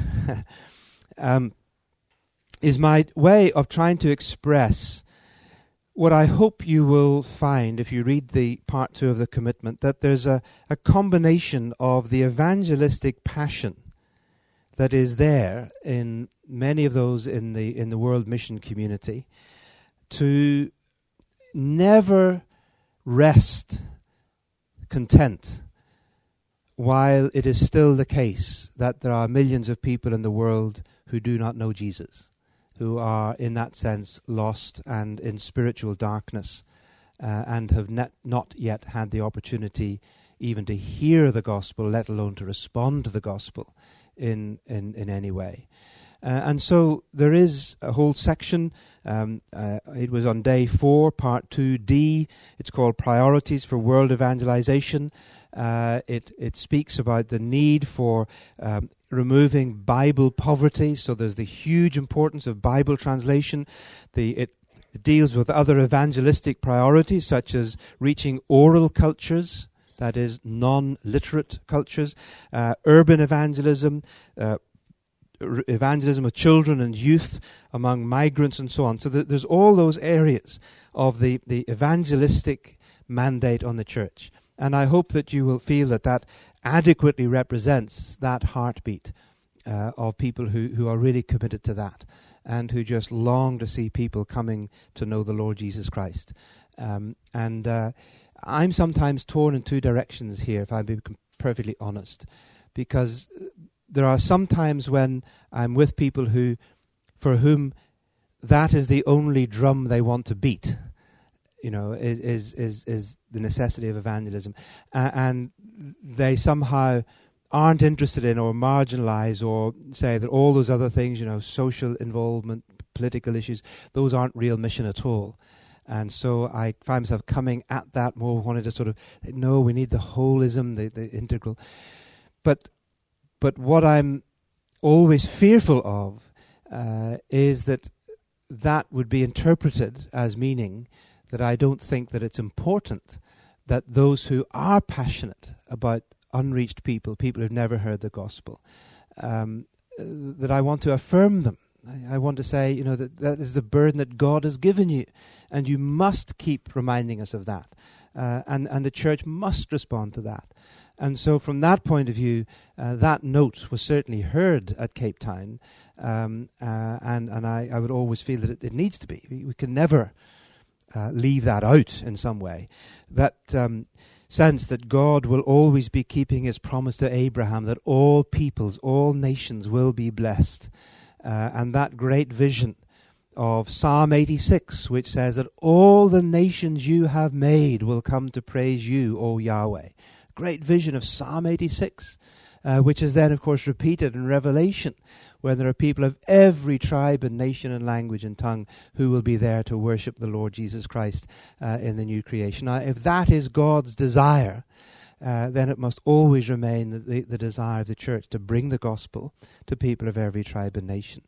is my way of trying to express what I hope you will find if you read the part 2 of the commitment, that there's a combination of the evangelistic passion that is there in many of those in the world mission community to never rest content while it is still the case that there are millions of people in the world who do not know Jesus, who are in that sense lost and in spiritual darkness, and have not yet had the opportunity even to hear the gospel, let alone to respond to the gospel in any way. And so there is a whole section. It was on day 4, part 2D. It's called Priorities for World Evangelization. It speaks about the need for removing Bible poverty. So there's the huge importance of Bible translation. It deals with other evangelistic priorities, such as reaching oral cultures, that is, non-literate cultures, urban evangelism, evangelism of children and youth among migrants and so on. So there's all those areas of the evangelistic mandate on the church. And I hope that you will feel that adequately represents that heartbeat of people who are really committed to that and who just long to see people coming to know the Lord Jesus Christ. I'm sometimes torn in two directions here, if I'm being perfectly honest, because there are some times when I'm with people for whom that is the only drum they want to beat, is the necessity of evangelism. And they somehow aren't interested in or marginalize or say that all those other things, social involvement, political issues, those aren't real mission at all. And so I find myself coming at that more, wanting to sort of, no, we need the holism, the integral. But what I'm always fearful of is that would be interpreted as meaning that I don't think that it's important that those who are passionate about unreached people who've never heard the gospel, that I want to affirm them. I want to say, that is the burden that God has given you, and you must keep reminding us of that. And the church must respond to that. And so from that point of view, that note was certainly heard at Cape Town, and I would always feel that it needs to be. We can never leave that out in some way. That sense that God will always be keeping his promise to Abraham that all peoples, all nations will be blessed. And that great vision of Psalm 86, which says that all the nations you have made will come to praise you, O Yahweh. Great vision of Psalm 86, which is then, of course, repeated in Revelation, where there are people of every tribe and nation and language and tongue who will be there to worship the Lord Jesus Christ in the new creation. Now, if that is God's desire, then it must always remain the desire of the church to bring the gospel to people of every tribe and nation.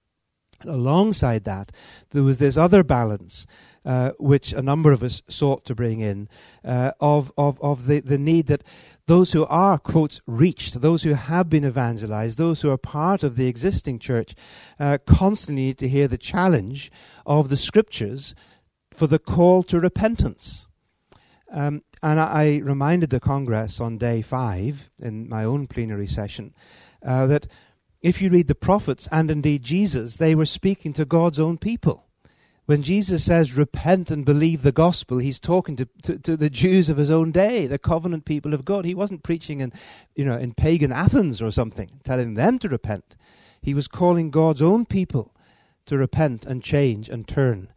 Alongside that, there was this other balance, which a number of us sought to bring in, of the need that those who are, quotes, reached, those who have been evangelized, those who are part of the existing church, constantly need to hear the challenge of the scriptures for the call to repentance. And I reminded the Congress on day 5 in my own plenary session that if you read the prophets and indeed Jesus, they were speaking to God's own people. When Jesus says, repent and believe the gospel, he's talking to the Jews of his own day, the covenant people of God. He wasn't preaching in pagan Athens or something, telling them to repent. He was calling God's own people to repent and change and turn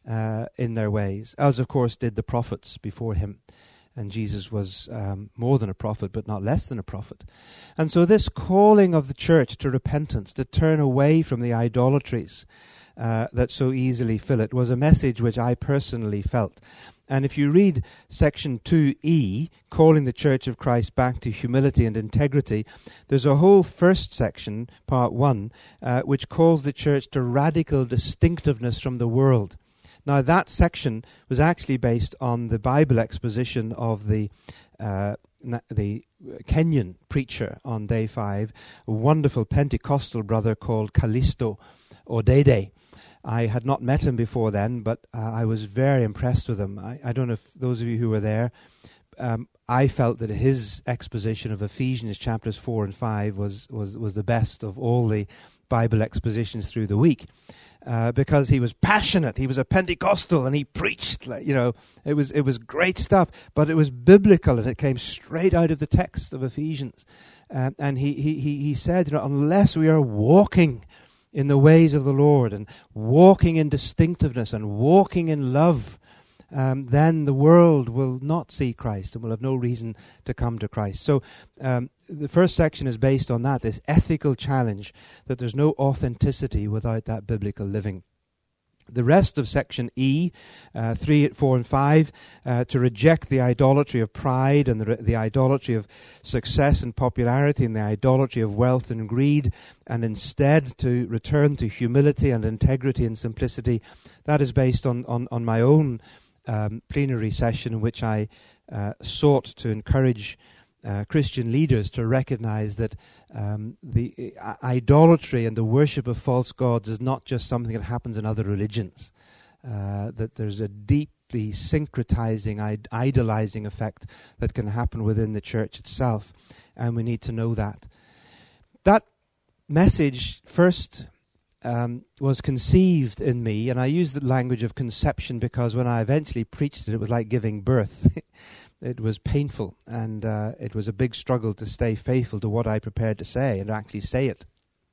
in their ways, as of course did the prophets before him. And Jesus was more than a prophet, but not less than a prophet. And so this calling of the church to repentance, to turn away from the idolatries that so easily fill it, was a message which I personally felt. And if you read section 2E, calling the Church of Christ back to humility and integrity, there's a whole first section, part 1, which calls the church to radical distinctiveness from the world. Now, that section was actually based on the Bible exposition of the Kenyan preacher on day 5, a wonderful Pentecostal brother called Callisto Odede. I had not met him before then, but I was very impressed with him. I don't know if those of you who were there, I felt that his exposition of Ephesians chapters 4 and 5 was the best of all the Bible expositions through the week, because he was passionate. He was a Pentecostal, and he preached. It was great stuff, but it was biblical, and it came straight out of the text of Ephesians. And he said, unless we are walking in the ways of the Lord and walking in distinctiveness and walking in love, then the world will not see Christ and will have no reason to come to Christ. So the first section is based on that, this ethical challenge that there's no authenticity without that biblical living. The rest of section E, 3, 4, and 5, to reject the idolatry of pride and the idolatry of success and popularity and the idolatry of wealth and greed, and instead to return to humility and integrity and simplicity. That is based on my own plenary session, in which I sought to encourage Christian leaders to recognize that the idolatry and the worship of false gods is not just something that happens in other religions, that there's a deeply syncretizing, idolizing effect that can happen within the church itself, and we need to know that. That message first was conceived in me, and I use the language of conception because when I eventually preached it was like giving birth. It was painful, and it was a big struggle to stay faithful to what I prepared to say and actually say it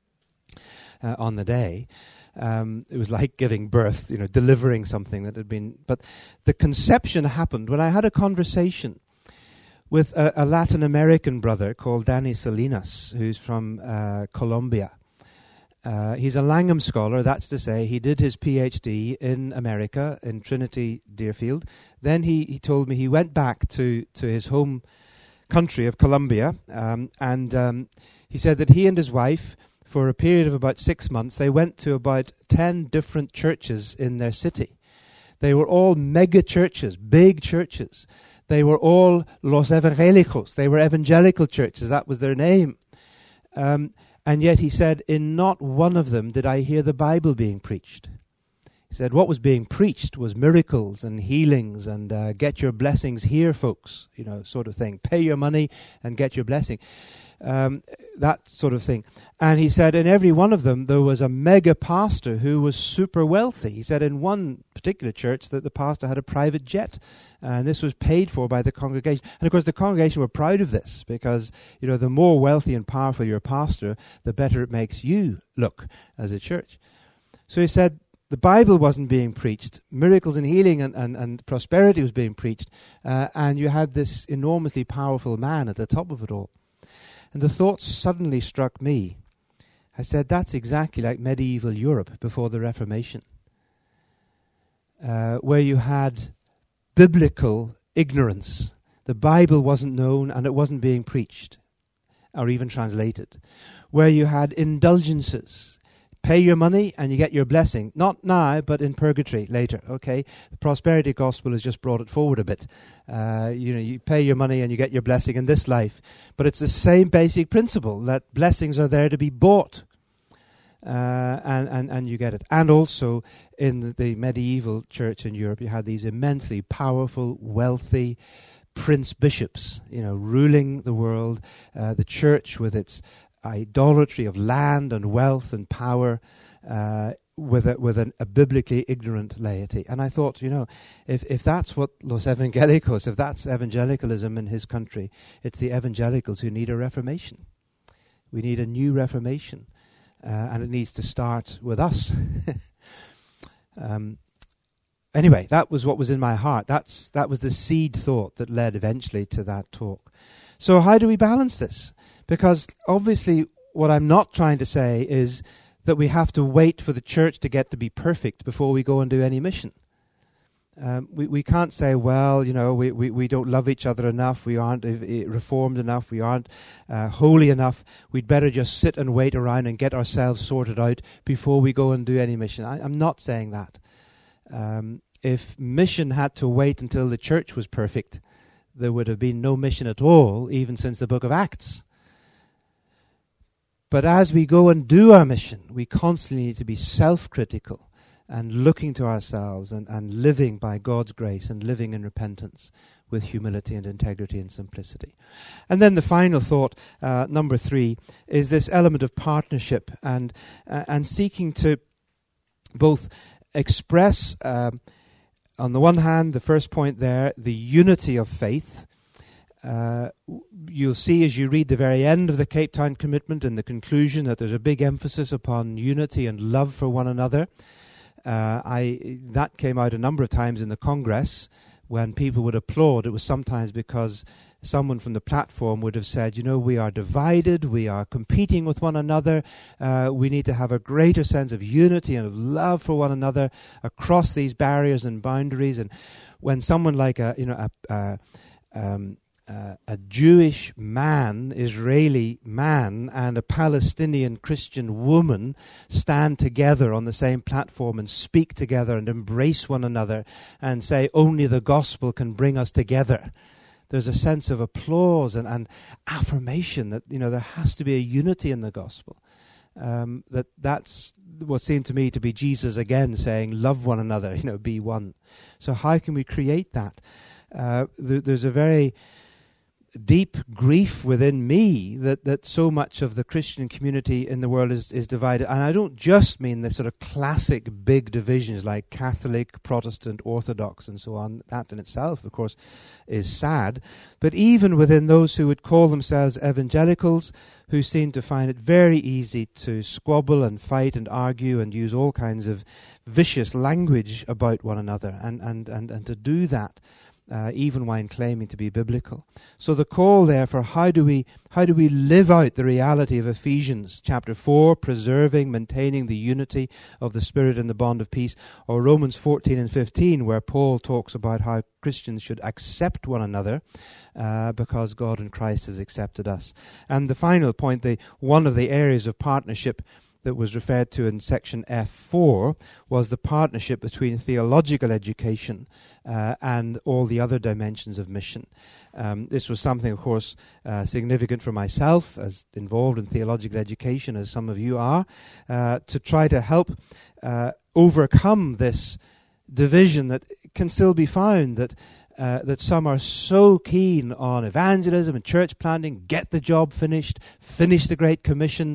on the day. It was like giving birth, delivering something that had been... But the conception happened when I had a conversation with a Latin American brother called Danny Salinas, who's from Colombia. He's a Langham scholar, that's to say, he did his PhD in America, in Trinity, Deerfield. Then he told me he went back to his home country of Colombia, and he said that he and his wife, for a period of about 6 months, they went to about 10 different churches in their city. They were all mega churches, big churches. They were all Los Evangelicos. They were evangelical churches, that was their name. And yet he said, in not one of them did I hear the Bible being preached. He said, what was being preached was miracles and healings and get your blessings here, folks, sort of thing. Pay your money and get your blessing. That sort of thing. And he said in every one of them there was a mega pastor who was super wealthy. He said in one particular church that the pastor had a private jet, and this was paid for by the congregation. And of course the congregation were proud of this because, the more wealthy and powerful your pastor, the better it makes you look as a church. So he said the Bible wasn't being preached, miracles and healing and prosperity was being preached, and you had this enormously powerful man at the top of it all. And the thought suddenly struck me. I said, that's exactly like medieval Europe before the Reformation, where you had biblical ignorance. The Bible wasn't known and it wasn't being preached or even translated. Where you had indulgences. Pay your money and you get your blessing. Not now, but in purgatory later, okay? The prosperity gospel has just brought it forward a bit. You pay your money and you get your blessing in this life. But it's the same basic principle, that blessings are there to be bought. And you get it. And also, in the medieval church in Europe, you had these immensely powerful, wealthy prince-bishops, ruling the world. The church with its idolatry of land and wealth and power, with a biblically ignorant laity. And I thought, if that's what Los Evangelicos, if that's evangelicalism in his country, it's the evangelicals who need a reformation. We need a new reformation, and it needs to start with us. Anyway, that was what was in my heart. That was the seed thought that led eventually to that talk. So how do we balance this? Because obviously what I'm not trying to say is that we have to wait for the church to get to be perfect before we go and do any mission. We can't say, well, we don't love each other enough, we aren't reformed enough, we aren't holy enough, we'd better just sit and wait around and get ourselves sorted out before we go and do any mission. I'm not saying that. If mission had to wait until the church was perfect, there would have been no mission at all, even since the book of Acts. But as we go and do our mission, we constantly need to be self-critical and looking to ourselves and living by God's grace and living in repentance. with humility and integrity and simplicity. And then the final thought, number 3, is this element of partnership and seeking to both express, on the one hand, the first point there, the unity of faith. You'll see as you read the very end of the Cape Town Commitment and the conclusion that there's a big emphasis upon unity and love for one another. That came out a number of times in the Congress when people would applaud. It was sometimes because someone from the platform would have said, we are divided, we are competing with one another, we need to have a greater sense of unity and of love for one another across these barriers and boundaries. And when someone like a Jewish man, Israeli man, and a Palestinian Christian woman stand together on the same platform and speak together and embrace one another and say only the gospel can bring us together, there's a sense of applause and affirmation that there has to be a unity in the gospel. That's what seemed to me to be Jesus again saying, love one another, be one. So how can we create that? There's a very deep grief within me that so much of the Christian community in the world is divided. And I don't just mean the sort of classic big divisions like Catholic, Protestant, Orthodox and so on. That in itself, of course, is sad. But even within those who would call themselves evangelicals, who seem to find it very easy to squabble and fight and argue and use all kinds of vicious language about one another and to do that even when claiming to be biblical. So the call there for how do we live out the reality of Ephesians chapter 4, preserving, maintaining the unity of the Spirit in the bond of peace, or Romans 14 and 15, where Paul talks about how Christians should accept one another because God in Christ has accepted us. And the final point, one of the areas of partnership that was referred to in section F4 was the partnership between theological education and all the other dimensions of mission. This was something, of course, significant for myself, as involved in theological education, as some of you are, to try to help overcome this division that can still be found, that some are so keen on evangelism and church planting, get the job finished, finish the Great Commission.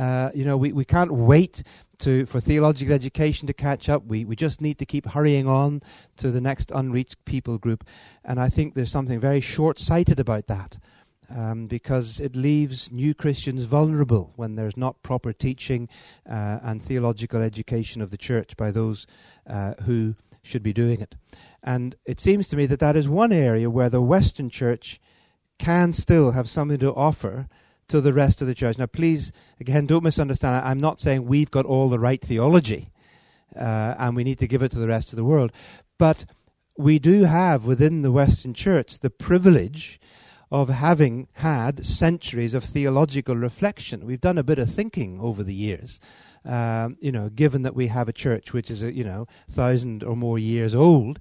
We can't wait for theological education to catch up. We just need to keep hurrying on to the next unreached people group. And I think there's something very short-sighted about that, because it leaves new Christians vulnerable when there's not proper teaching and theological education of the church by those who should be doing it. And it seems to me that is one area where the Western church can still have something to offer to the rest of the church. Now, please, again, don't misunderstand. I'm not saying we've got all the right theology and we need to give it to the rest of the world. But we do have within the Western church the privilege of having had centuries of theological reflection. We've done a bit of thinking over the years. Given that we have a church which is 1,000 or more years old,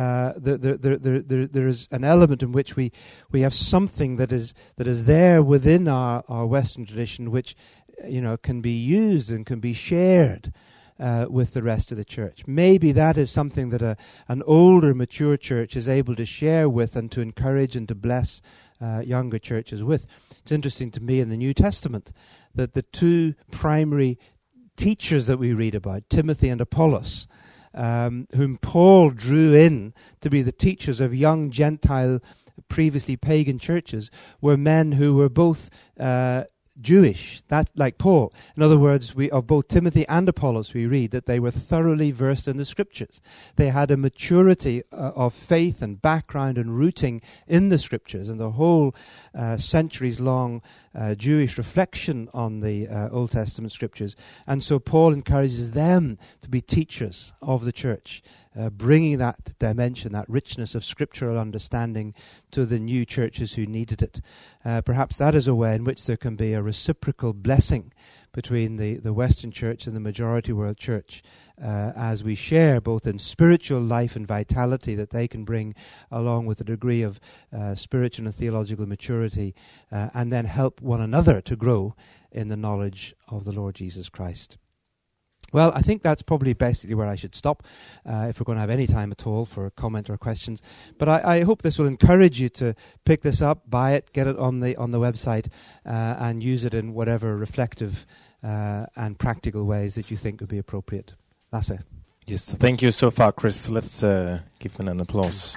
there is an element in which we have something that is there within our Western tradition, which can be used and can be shared with the rest of the church. Maybe that is something that an older, mature church is able to share with and to encourage and to bless younger churches with. It's interesting to me in the New Testament that the two primary teachers that we read about, Timothy and Apollos, whom Paul drew in to be the teachers of young Gentile, previously pagan churches, were men who were both Jewish, that like Paul. In other words, of both Timothy and Apollos we read that they were thoroughly versed in the Scriptures. They had a maturity of faith and background and rooting in the Scriptures, and the whole centuries-long Jewish reflection on the Old Testament Scriptures. And so Paul encourages them to be teachers of the church, bringing that dimension, that richness of scriptural understanding to the new churches who needed it. Perhaps that is a way in which there can be a reciprocal blessing between the Western church and the majority world church as we share both in spiritual life and vitality that they can bring along with a degree of spiritual and theological maturity and then help one another to grow in the knowledge of the Lord Jesus Christ. Well, I think that's probably basically where I should stop if we're going to have any time at all for comment or questions. But I hope this will encourage you to pick this up, buy it, get it on the website, and use it in whatever reflective and practical ways that you think would be appropriate. Lasse. Yes, thank you so far, Chris. Let's give him an applause.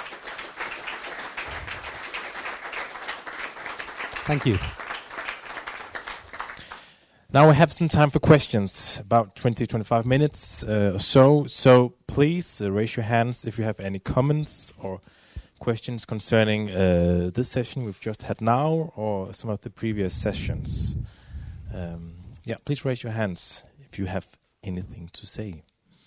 Thank you. Now we have some time for questions, about 20-25 minutes or so. So please raise your hands if you have any comments or questions concerning this session we've just had now or some of the previous sessions. Please raise your hands if you have anything to say.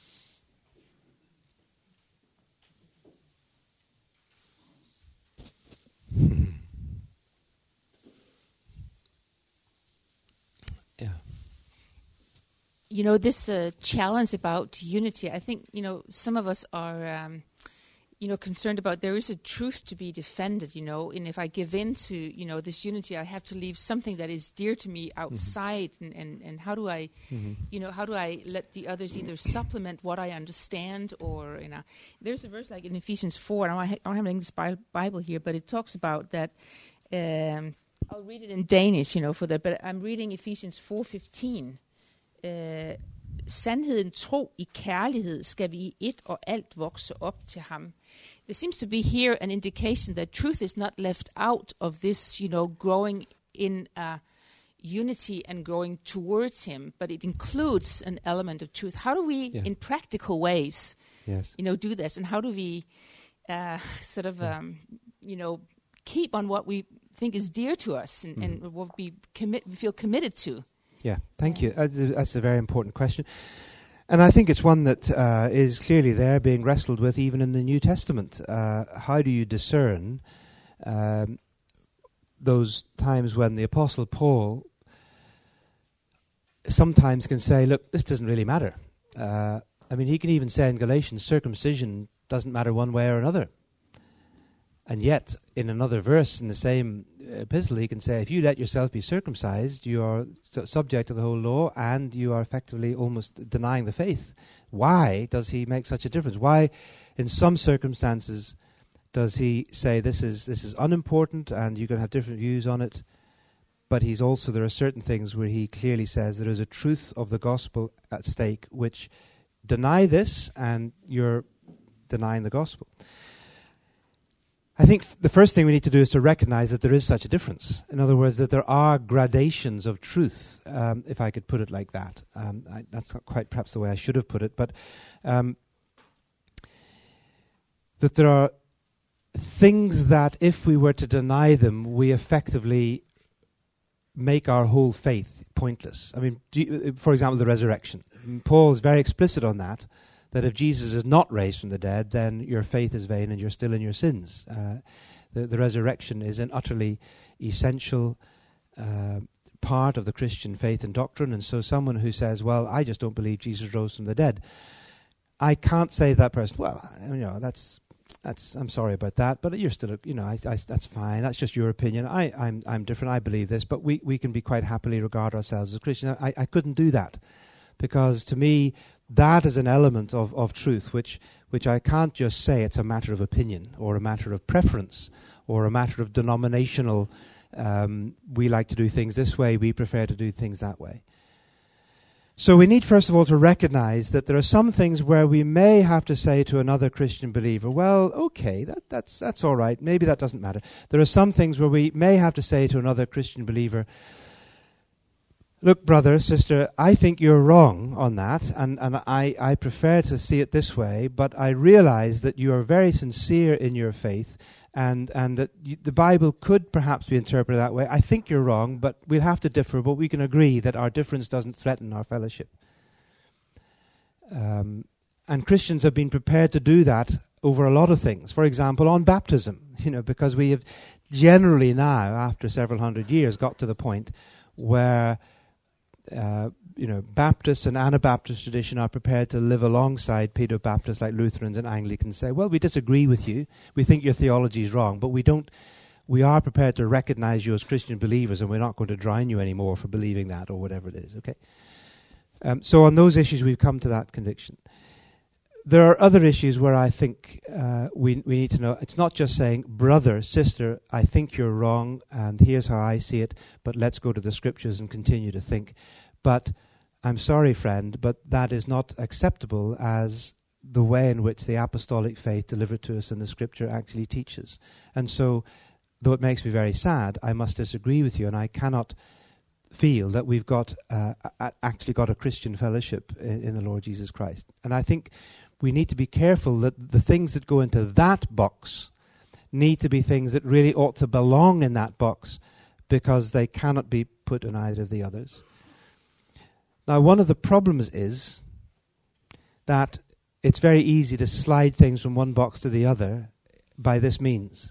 You know, this challenge about unity, I think, some of us are, concerned about there is a truth to be defended, and if I give in to, this unity, I have to leave something that is dear to me outside. And how do I, how do I let the others either supplement what I understand or, there's a verse like in Ephesians 4, and I don't have an English Bible here, but it talks about that, I'll read it in Danish, for that, but I'm reading Ephesians 4:15. Sandheden, tro i kærlighed skal vi i et og alt vokse op til ham. There seems to be here an indication that truth is not left out of this, growing in unity and growing towards him, but it includes an element of truth. How do we, in practical ways, do this? And how do we keep on what we think is dear to us and what we feel committed to? Yeah, thank you. That's a very important question. And I think it's one that is clearly there being wrestled with even in the New Testament. How do you discern those times when the Apostle Paul sometimes can say, look, this doesn't really matter. He can even say in Galatians, circumcision doesn't matter one way or another. And yet, in another verse in the same epistle, he can say, if you let yourself be circumcised, you are subject to the whole law, and you are effectively almost denying the faith. Why does he make such a difference? Why, in some circumstances, does he say this is unimportant, and you can have different views on it? But there are certain things where he clearly says there is a truth of the gospel at stake, which deny this, and you're denying the gospel. I think the first thing we need to do is to recognize that there is such a difference. In other words, that there are gradations of truth, if I could put it like that. That's not quite perhaps the way I should have put it, but that there are things that if we were to deny them, we effectively make our whole faith pointless. For example, the resurrection. Paul is very explicit on that if Jesus is not raised from the dead, then your faith is vain and you're still in your sins. The resurrection is an utterly essential part of the Christian faith and doctrine, and so someone who says, well, I just don't believe Jesus rose from the dead, I can't say to that person, well, that's I'm sorry about that, but you're still, that's fine, that's just your opinion, I'm different, I believe this, but we can be quite happily regard ourselves as Christians. I couldn't do that, because to me, that is an element of truth which I can't just say it's a matter of opinion or a matter of preference or a matter of denominational, we like to do things this way, we prefer to do things that way. So we need first of all to recognize that there are some things where we may have to say to another Christian believer, well, okay, that's all right, maybe that doesn't matter. There are some things where we may have to say to another Christian believer, look, brother, sister, I think you're wrong on that, and I prefer to see it this way, but I realize that you are very sincere in your faith, and that the Bible could perhaps be interpreted that way. I think you're wrong, but we'll have to differ, but we can agree that our difference doesn't threaten our fellowship. And Christians have been prepared to do that over a lot of things. For example, on baptism, because we have generally now, after several hundred years, got to the point where Baptists and Anabaptist tradition are prepared to live alongside Paedo-Baptists like Lutherans and Anglicans, say, well, we disagree with you, we think your theology is wrong, but we are prepared to recognize you as Christian believers, and we're not going to drown you anymore for believing that or whatever it is, okay? So on those issues, we've come to that conviction. There are other issues where I think we need to know. It's not just saying, brother, sister, I think you're wrong, and here's how I see it, but let's go to the scriptures and continue to think. But I'm sorry, friend, but that is not acceptable as the way in which the apostolic faith delivered to us in the scripture actually teaches. And so, though it makes me very sad, I must disagree with you, and I cannot feel that we've got actually got a Christian fellowship in the Lord Jesus Christ. And I think we need to be careful that the things that go into that box need to be things that really ought to belong in that box, because they cannot be put in either of the others. Now, one of the problems is that it's very easy to slide things from one box to the other by this means.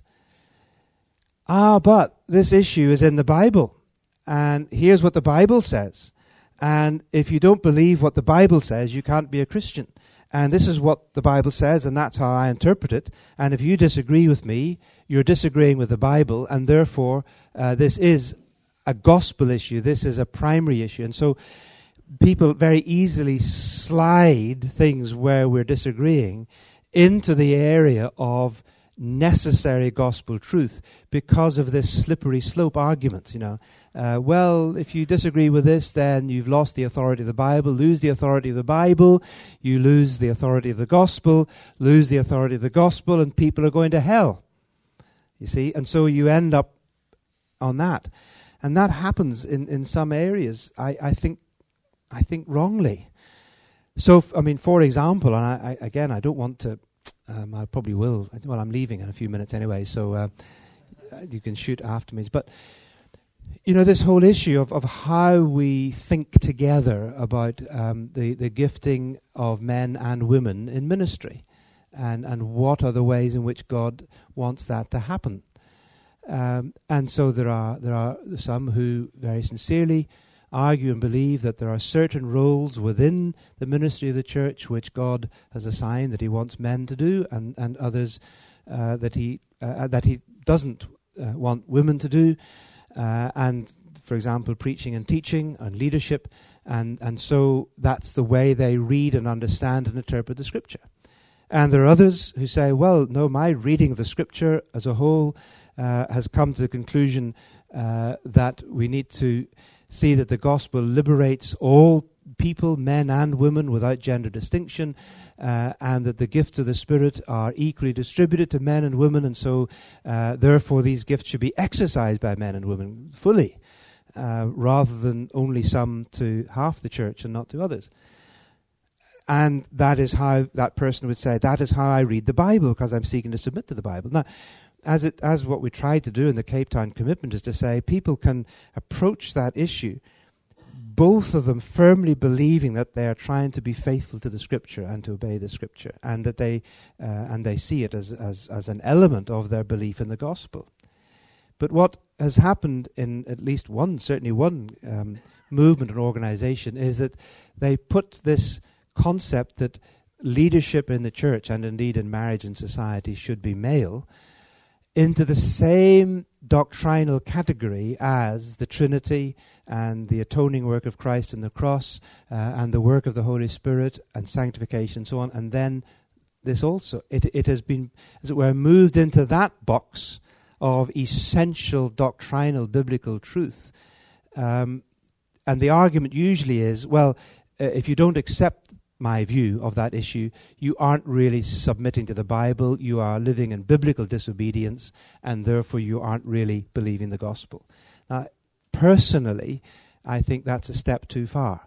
But this issue is in the Bible, and here's what the Bible says. And if you don't believe what the Bible says, you can't be a Christian. And this is what the Bible says, and that's how I interpret it. And if you disagree with me, you're disagreeing with the Bible, and therefore this is a gospel issue. This is a primary issue. And so people very easily slide things where we're disagreeing into the area of necessary gospel truth because of this slippery slope argument, well, if you disagree with this, then you've lost the authority of the Bible. Lose the authority of the Bible, you lose the authority of the gospel. Lose the authority of the gospel, and people are going to hell. You see? And so you end up on that. And that happens in some areas, I think wrongly. So, for example, and I don't want to, I probably will. Well, I'm leaving in a few minutes anyway, so you can shoot after me. But, this whole issue of how we think together about the gifting of men and women in ministry, and what are the ways in which God wants that to happen. And so there are some who very sincerely argue and believe that there are certain roles within the ministry of the church which God has assigned that He wants men to do, and others that He doesn't want women to do, and for example, preaching and teaching and leadership, and so that's the way they read and understand and interpret the Scripture. And there are others who say, well, no, my reading of the Scripture as a whole has come to the conclusion that we need to see that the gospel liberates all people, men and women, without gender distinction, and that the gifts of the Spirit are equally distributed to men and women, and so therefore these gifts should be exercised by men and women fully, rather than only some to half the church and not to others. And that is how that person would say, that is how I read the Bible, because I'm seeking to submit to the Bible. Now, as what we tried to do in the Cape Town Commitment is to say people can approach that issue, both of them firmly believing that they are trying to be faithful to the Scripture and to obey the Scripture, and that they see it as an element of their belief in the gospel. But what has happened in at least certainly one movement or organization is that they put this concept that leadership in the church, and indeed in marriage and society, should be male, into the same doctrinal category as the Trinity and the atoning work of Christ in the cross, and the work of the Holy Spirit and sanctification and so on. And then this also, it has been, as it were, moved into that box of essential doctrinal biblical truth. And the argument usually is, well, if you don't accept my view of that issue, you aren't really submitting to the Bible, you are living in biblical disobedience, and therefore you aren't really believing the gospel. Now, personally, I think that's a step too far.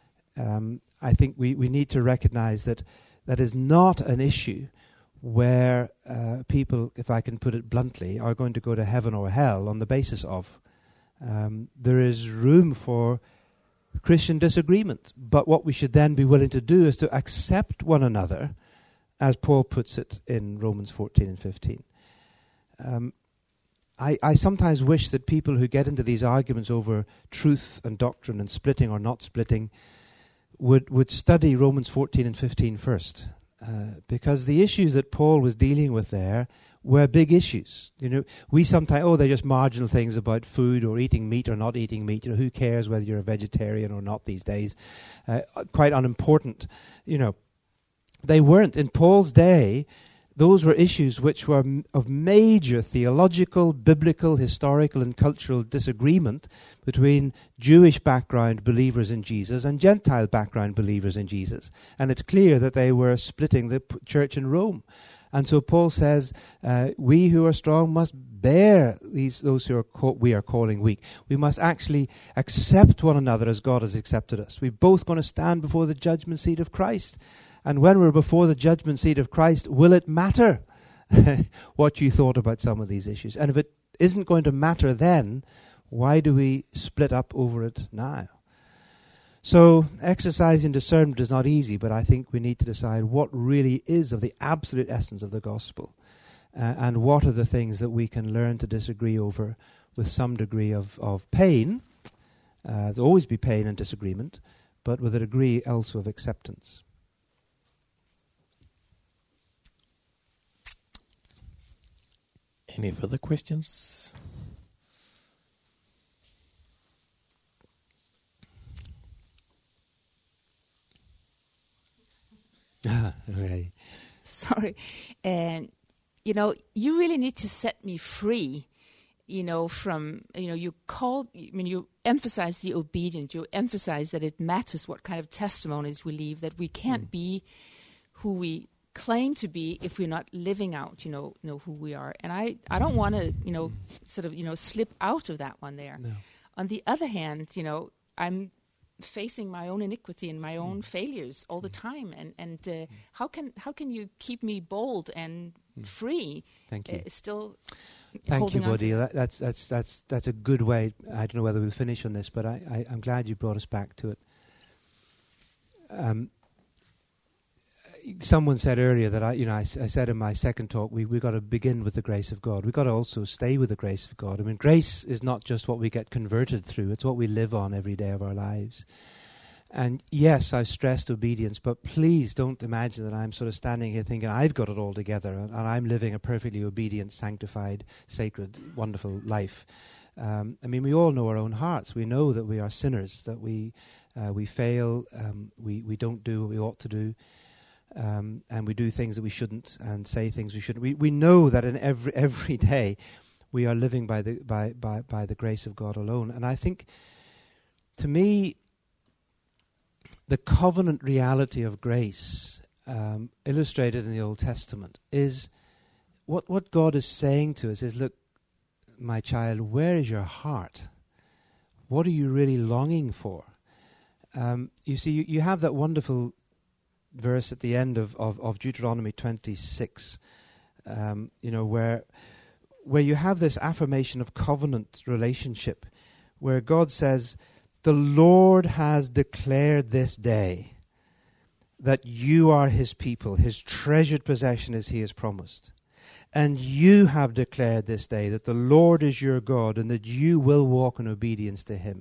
I think we need to recognize that that is not an issue where people, if I can put it bluntly, are going to go to heaven or hell on the basis of. There is room for Christian disagreement, but what we should then be willing to do is to accept one another, as Paul puts it in Romans 14 and 15. I sometimes wish that people who get into these arguments over truth and doctrine and splitting or not splitting would study Romans 14 and 15 first, because the issues that Paul was dealing with there were big issues. You know, we sometimes, they're just marginal things about food or eating meat or not eating meat. You know, who cares whether you're a vegetarian or not these days? Quite unimportant. You know, they weren't. In Paul's day, those were issues which were of major theological, biblical, historical and cultural disagreement between Jewish background believers in Jesus and Gentile background believers in Jesus. And it's clear that they were splitting the church in Rome. And so Paul says, we who are strong must bear those who we are calling weak. We must actually accept one another as God has accepted us. We're both going to stand before the judgment seat of Christ. And when we're before the judgment seat of Christ, will it matter what you thought about some of these issues? And if it isn't going to matter then, why do we split up over it now? So exercising discernment is not easy, but I think we need to decide what really is of the absolute essence of the gospel, and what are the things that we can learn to disagree over with some degree of pain. There'll always be pain and disagreement, but with a degree also of acceptance. Any further questions? Okay. Sorry. And, you know, you really need to set me free, you know, from, you know, you emphasize the obedience, you emphasize that it matters what kind of testimonies we leave, that we can't be who we claim to be if we're not living out, you know who we are. And I don't want to, you know, sort of, you know, slip out of that one there. No. On the other hand, you know, I'm facing my own iniquity and my own failures all the time. And how can you keep me bold and free? Thank you. Still Thank holding you, on to Buddy. That's a good way. I don't know whether we'll finish on this, but I'm glad you brought us back to it. Someone said earlier that I said in my second talk, we got to begin with the grace of God. We've got to also stay with the grace of God. I mean, grace is not just what we get converted through, it's what we live on every day of our lives. And yes, I've stressed obedience, but please don't imagine that I'm sort of standing here thinking I've got it all together and I'm living a perfectly obedient, sanctified, sacred, wonderful life. I mean, we all know our own hearts. We know that we are sinners, that we fail, we don't do what we ought to do. And we do things that we shouldn't and say things we shouldn't. We know that in every day we are living by the grace of God alone. And I think, to me, the covenant reality of grace, illustrated in the Old Testament, is what God is saying to us is, look, my child, where is your heart? What are you really longing for? You see, you have that wonderful verse at the end of Deuteronomy 26, where you have this affirmation of covenant relationship, where God says, the Lord has declared this day that you are his people, his treasured possession as he has promised. And you have declared this day that the Lord is your God and that you will walk in obedience to him.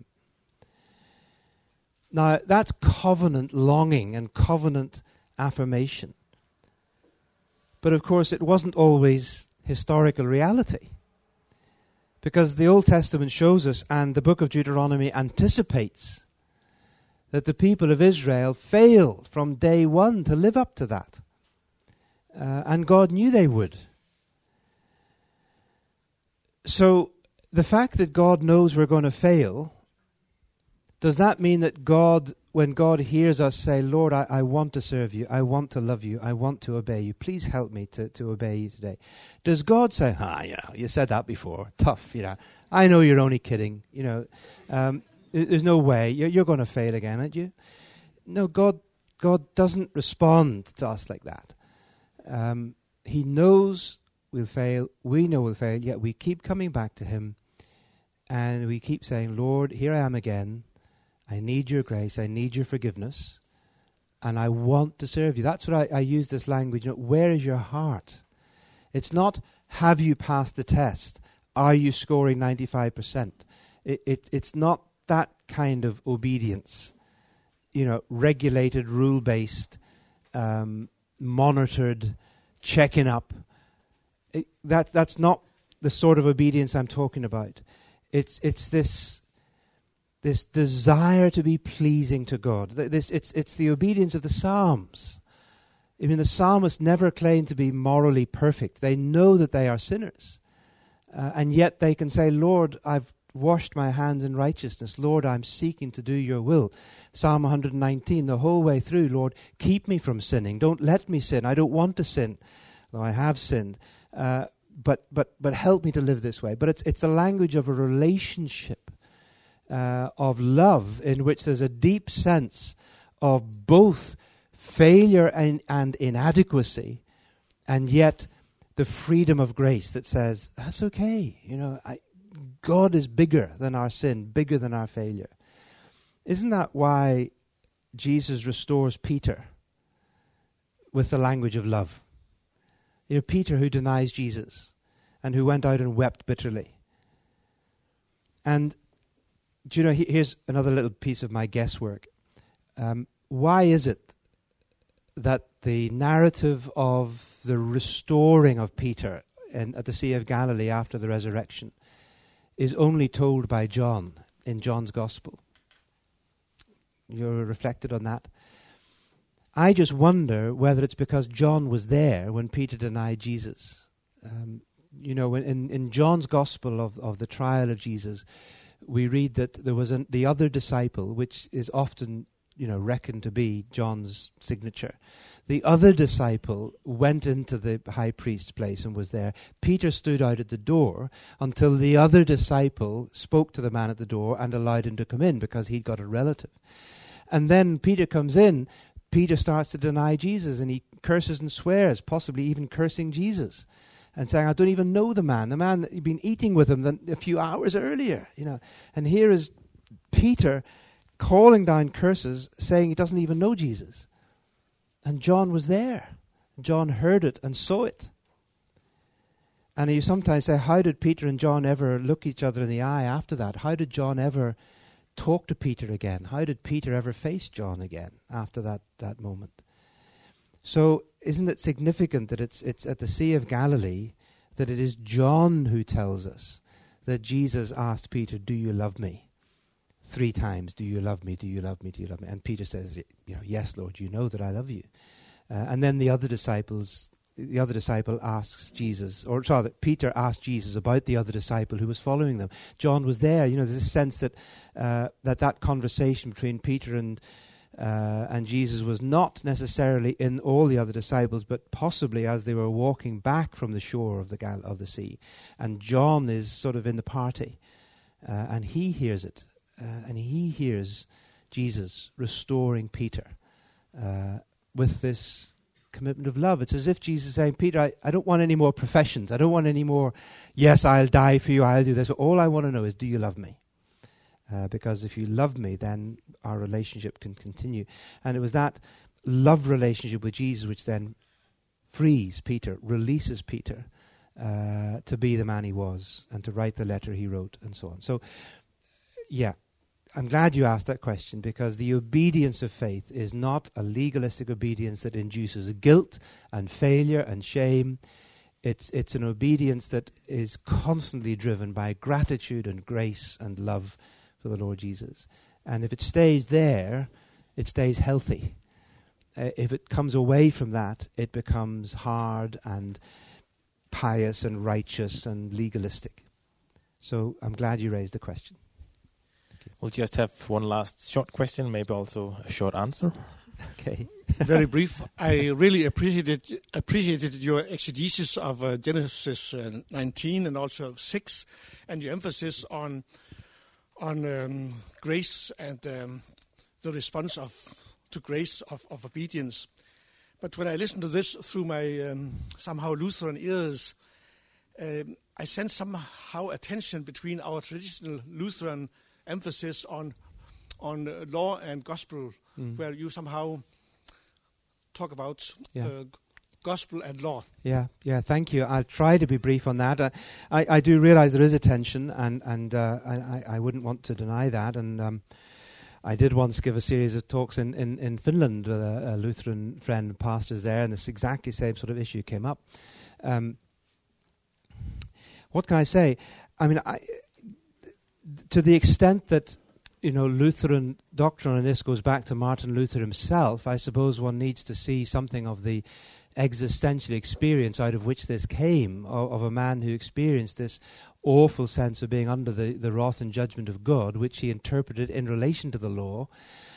Now, that's covenant longing and covenant affirmation. But of course, it wasn't always historical reality. Because the Old Testament shows us, and the book of Deuteronomy anticipates, that the people of Israel failed from day one to live up to that. And God knew they would. So, the fact that God knows we're going to fail, does that mean that God, when God hears us say, Lord, I want to serve you, I want to love you, I want to obey you, please help me to obey you today. Does God say, you said that before, tough, I know you're only kidding, there's no way, you're going to fail again, aren't you? No, God doesn't respond to us like that. He knows we'll fail, we know we'll fail, yet we keep coming back to him, and we keep saying, Lord, here I am again, I need your grace, I need your forgiveness, and I want to serve you. That's what I use this language. Where is your heart? It's not, have you passed the test? Are you scoring 95%? It's not that kind of obedience. Regulated, rule-based, monitored, checking up. That's not the sort of obedience I'm talking about. It's this desire to be pleasing to God. It's the obedience of the Psalms. I mean, the psalmists never claim to be morally perfect. They know that they are sinners. And yet they can say, Lord, I've washed my hands in righteousness. Lord, I'm seeking to do your will. Psalm 119, the whole way through, Lord, keep me from sinning. Don't let me sin. I don't want to sin, though I have sinned. But help me to live this way. But it's the language of a relationship, of love, in which there's a deep sense of both failure and inadequacy, and yet the freedom of grace that says, that's okay. God is bigger than our sin, bigger than our failure. Isn't that why Jesus restores Peter with the language of love? Peter, who denies Jesus and who went out and wept bitterly. And here's another little piece of my guesswork. Why is it that the narrative of the restoring of Peter at the Sea of Galilee after the resurrection is only told by John in John's Gospel? You're reflected on that? I just wonder whether it's because John was there when Peter denied Jesus. In John's Gospel of the trial of Jesus, we read that there was the other disciple, which is often reckoned to be John's signature. The other disciple went into the high priest's place and was there. Peter stood out at the door until the other disciple spoke to the man at the door and allowed him to come in because he'd got a relative. And then Peter comes in. Peter starts to deny Jesus, and he curses and swears, possibly even cursing Jesus, and saying, I don't even know the man that you've been eating with him a few hours earlier. And here is Peter calling down curses, saying he doesn't even know Jesus. And John was there. John heard it and saw it. And you sometimes say, how did Peter and John ever look each other in the eye after that? How did John ever talk to Peter again? How did Peter ever face John again after that moment? So isn't it significant that it's at the Sea of Galilee that it is John who tells us that Jesus asked Peter, do you love me? 3 times, do you love me? Do you love me? Do you love me? And Peter says, yes, Lord, you know that I love you. And then the other disciple asks Jesus, Peter asked Jesus about the other disciple who was following them. John was there. There's a sense that that conversation between Peter and Jesus was not necessarily in all the other disciples, but possibly as they were walking back from the shore of the sea. And John is sort of in the party, and he hears it. And he hears Jesus restoring Peter with this commitment of love. It's as if Jesus is saying, Peter, I don't want any more professions. I don't want any more, yes, I'll die for you, I'll do this. All I want to know is, do you love me? Because if you love me, then our relationship can continue. And it was that love relationship with Jesus which then frees Peter, releases Peter to be the man he was and to write the letter he wrote and so on. So, yeah. I'm glad you asked that question, because the obedience of faith is not a legalistic obedience that induces guilt and failure and shame. It's an obedience that is constantly driven by gratitude and grace and love for the Lord Jesus. And if it stays there, it stays healthy. If it comes away from that, it becomes hard and pious and righteous and legalistic. So I'm glad you raised the question. We'll just have one last short question, maybe also a short answer. Okay. Very brief. I really appreciated your exegesis of Genesis 19 and also 6, and your emphasis on grace and the response to grace of obedience. But when I listen to this through my somehow Lutheran ears, I sense somehow a tension between our traditional Lutheran emphasis on law and gospel, where you somehow talk about gospel and law. Yeah, thank you. I'll try to be brief on that. I do realize there is a tension, and I wouldn't want to deny that. And I did once give a series of talks in Finland with a Lutheran friend, pastors there, and this exactly same sort of issue came up. what can I say? I mean, to the extent that, Lutheran doctrine on this goes back to Martin Luther himself, I suppose one needs to see something of the existential experience out of which this came, of a man who experienced this awful sense of being under the wrath and judgment of God, which he interpreted in relation to the law,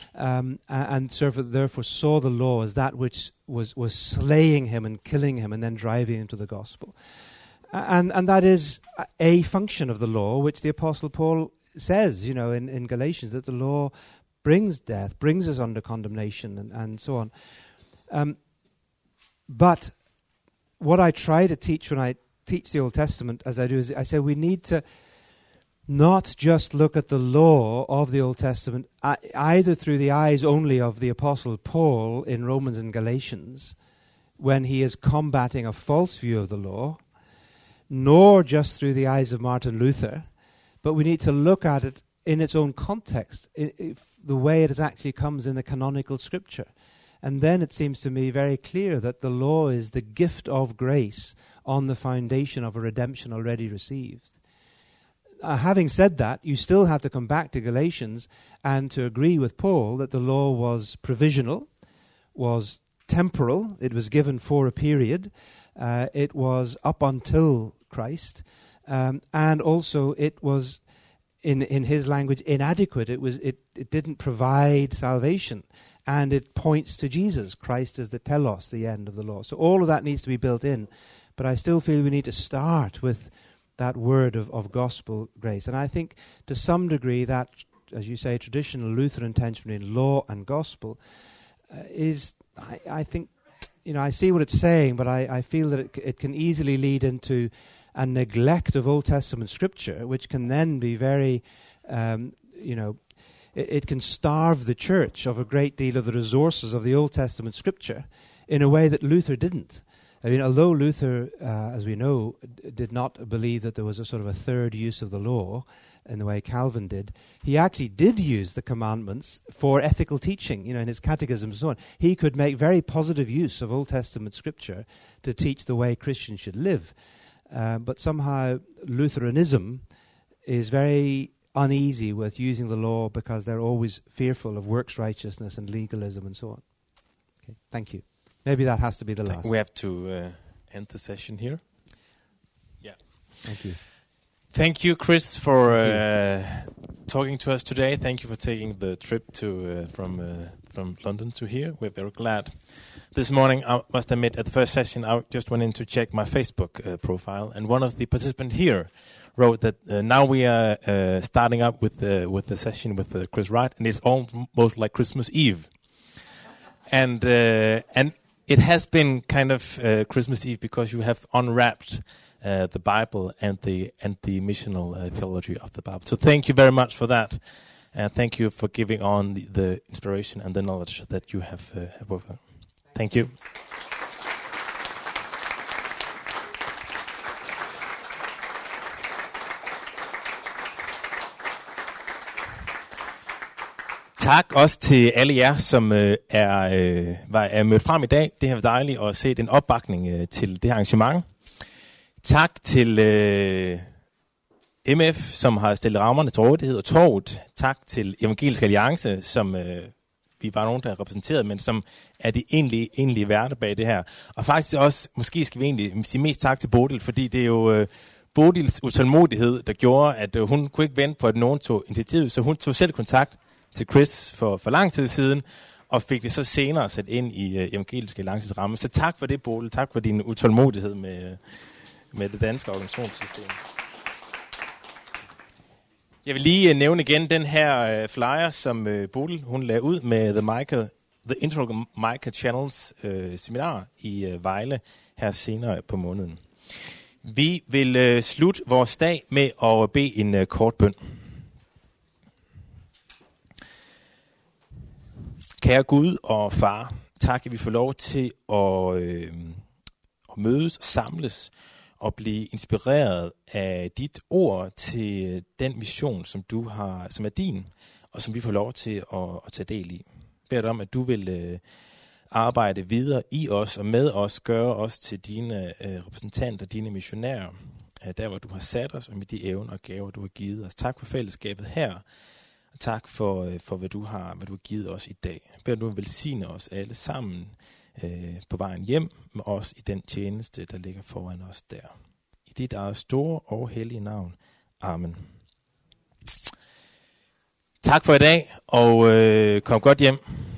and therefore saw the law as that which was slaying him and killing him and then driving him to the gospel. And that is a function of the law, which the Apostle Paul says, in Galatians, that the law brings death, brings us under condemnation, and so on. But what I try to teach when I teach the Old Testament, as I do, is I say we need to not just look at the law of the Old Testament either through the eyes only of the Apostle Paul in Romans and Galatians, when he is combating a false view of the law, nor just through the eyes of Martin Luther, but we need to look at it in its own context, the way it actually comes in the canonical scripture. And then it seems to me very clear that the law is the gift of grace on the foundation of a redemption already received. Having said that, you still have to come back to Galatians and to agree with Paul that the law was provisional, was temporal, it was given for a period, it was up until Christ, and also it was, in his language, inadequate. It didn't provide salvation. And it points to Jesus. Christ is the telos, the end of the law. So all of that needs to be built in. But I still feel we need to start with that word of gospel grace. And I think to some degree that, as you say, traditional Lutheran tension between law and gospel is, I think, I see what it's saying, but I feel that it can easily lead into a neglect of Old Testament scripture, which can then be very, it can starve the church of a great deal of the resources of the Old Testament scripture in a way that Luther didn't. I mean, although Luther, as we know, did not believe that there was a sort of a third use of the law in the way Calvin did, he actually did use the commandments for ethical teaching, in his catechism and so on. He could make very positive use of Old Testament scripture to teach the way Christians should live. But somehow Lutheranism is very uneasy with using the law because they're always fearful of works righteousness and legalism and so on. Okay, thank you. Maybe that has to be the last. We have to end the session here. Yeah. Thank you. Thank you, Chris, for talking to us today. Thank you for taking the trip to from London to here. We're very glad. This morning, I must admit, at the first session, I just went in to check my Facebook profile, and one of the participants here wrote that now we are starting up with the session with Chris Wright, and it's almost like Christmas Eve, and it has been kind of Christmas Eve because you have unwrapped the Bible and the missional theology of the Bible. So thank you very much for that, and thank you for giving on the inspiration and the knowledge that you have with her. Thank you. Tak også til alle jer, som er mødt frem i dag. Det har været dejligt at se en opbakning til det her arrangement. Tak til MF, som har stillet rammerne til rådighed, og Torvet. Tak til Evangelisk Alliance, som vi var nogen, der repræsenterede, men som er de egentlige værter bag det her. Og faktisk også, måske skal vi egentlig sige mest tak til Bodil, fordi det er jo Bodils utålmodighed, der gjorde, at hun kunne ikke vente på, at nogen tog initiativet, så hun tog selv kontakt til Chris for lang tid siden, og fik det så senere sat ind i Evangelisk Alliances ramme. Så tak for det, Bodil. Tak for din utålmodighed med det danske organisationssystem. Jeg vil lige nævne igen den her flyer, som Bodil hun lagde ud med The Integral Micah Channels seminar i Vejle her senere på måneden. Vi vil slutte vores dag med at bede en kort bøn. Kære Gud og Far, tak at vi får lov til at mødes og samles og blive inspireret af dit ord til den mission, som du har, som er din, og som vi får lov til at tage del i. Jeg beder dig om, at du vil arbejde videre i os og med os, gøre os til dine repræsentanter, dine missionærer, der hvor du har sat os, og med de evner og gaver, du har givet os. Tak for fællesskabet her, og tak for hvad du har givet os i dag. Jeg beder du velsigne os alle sammen på vejen hjem, med os i den tjeneste, der ligger foran os der. I dit eget store og hellige navn. Amen. Tak for i dag, og kom godt hjem.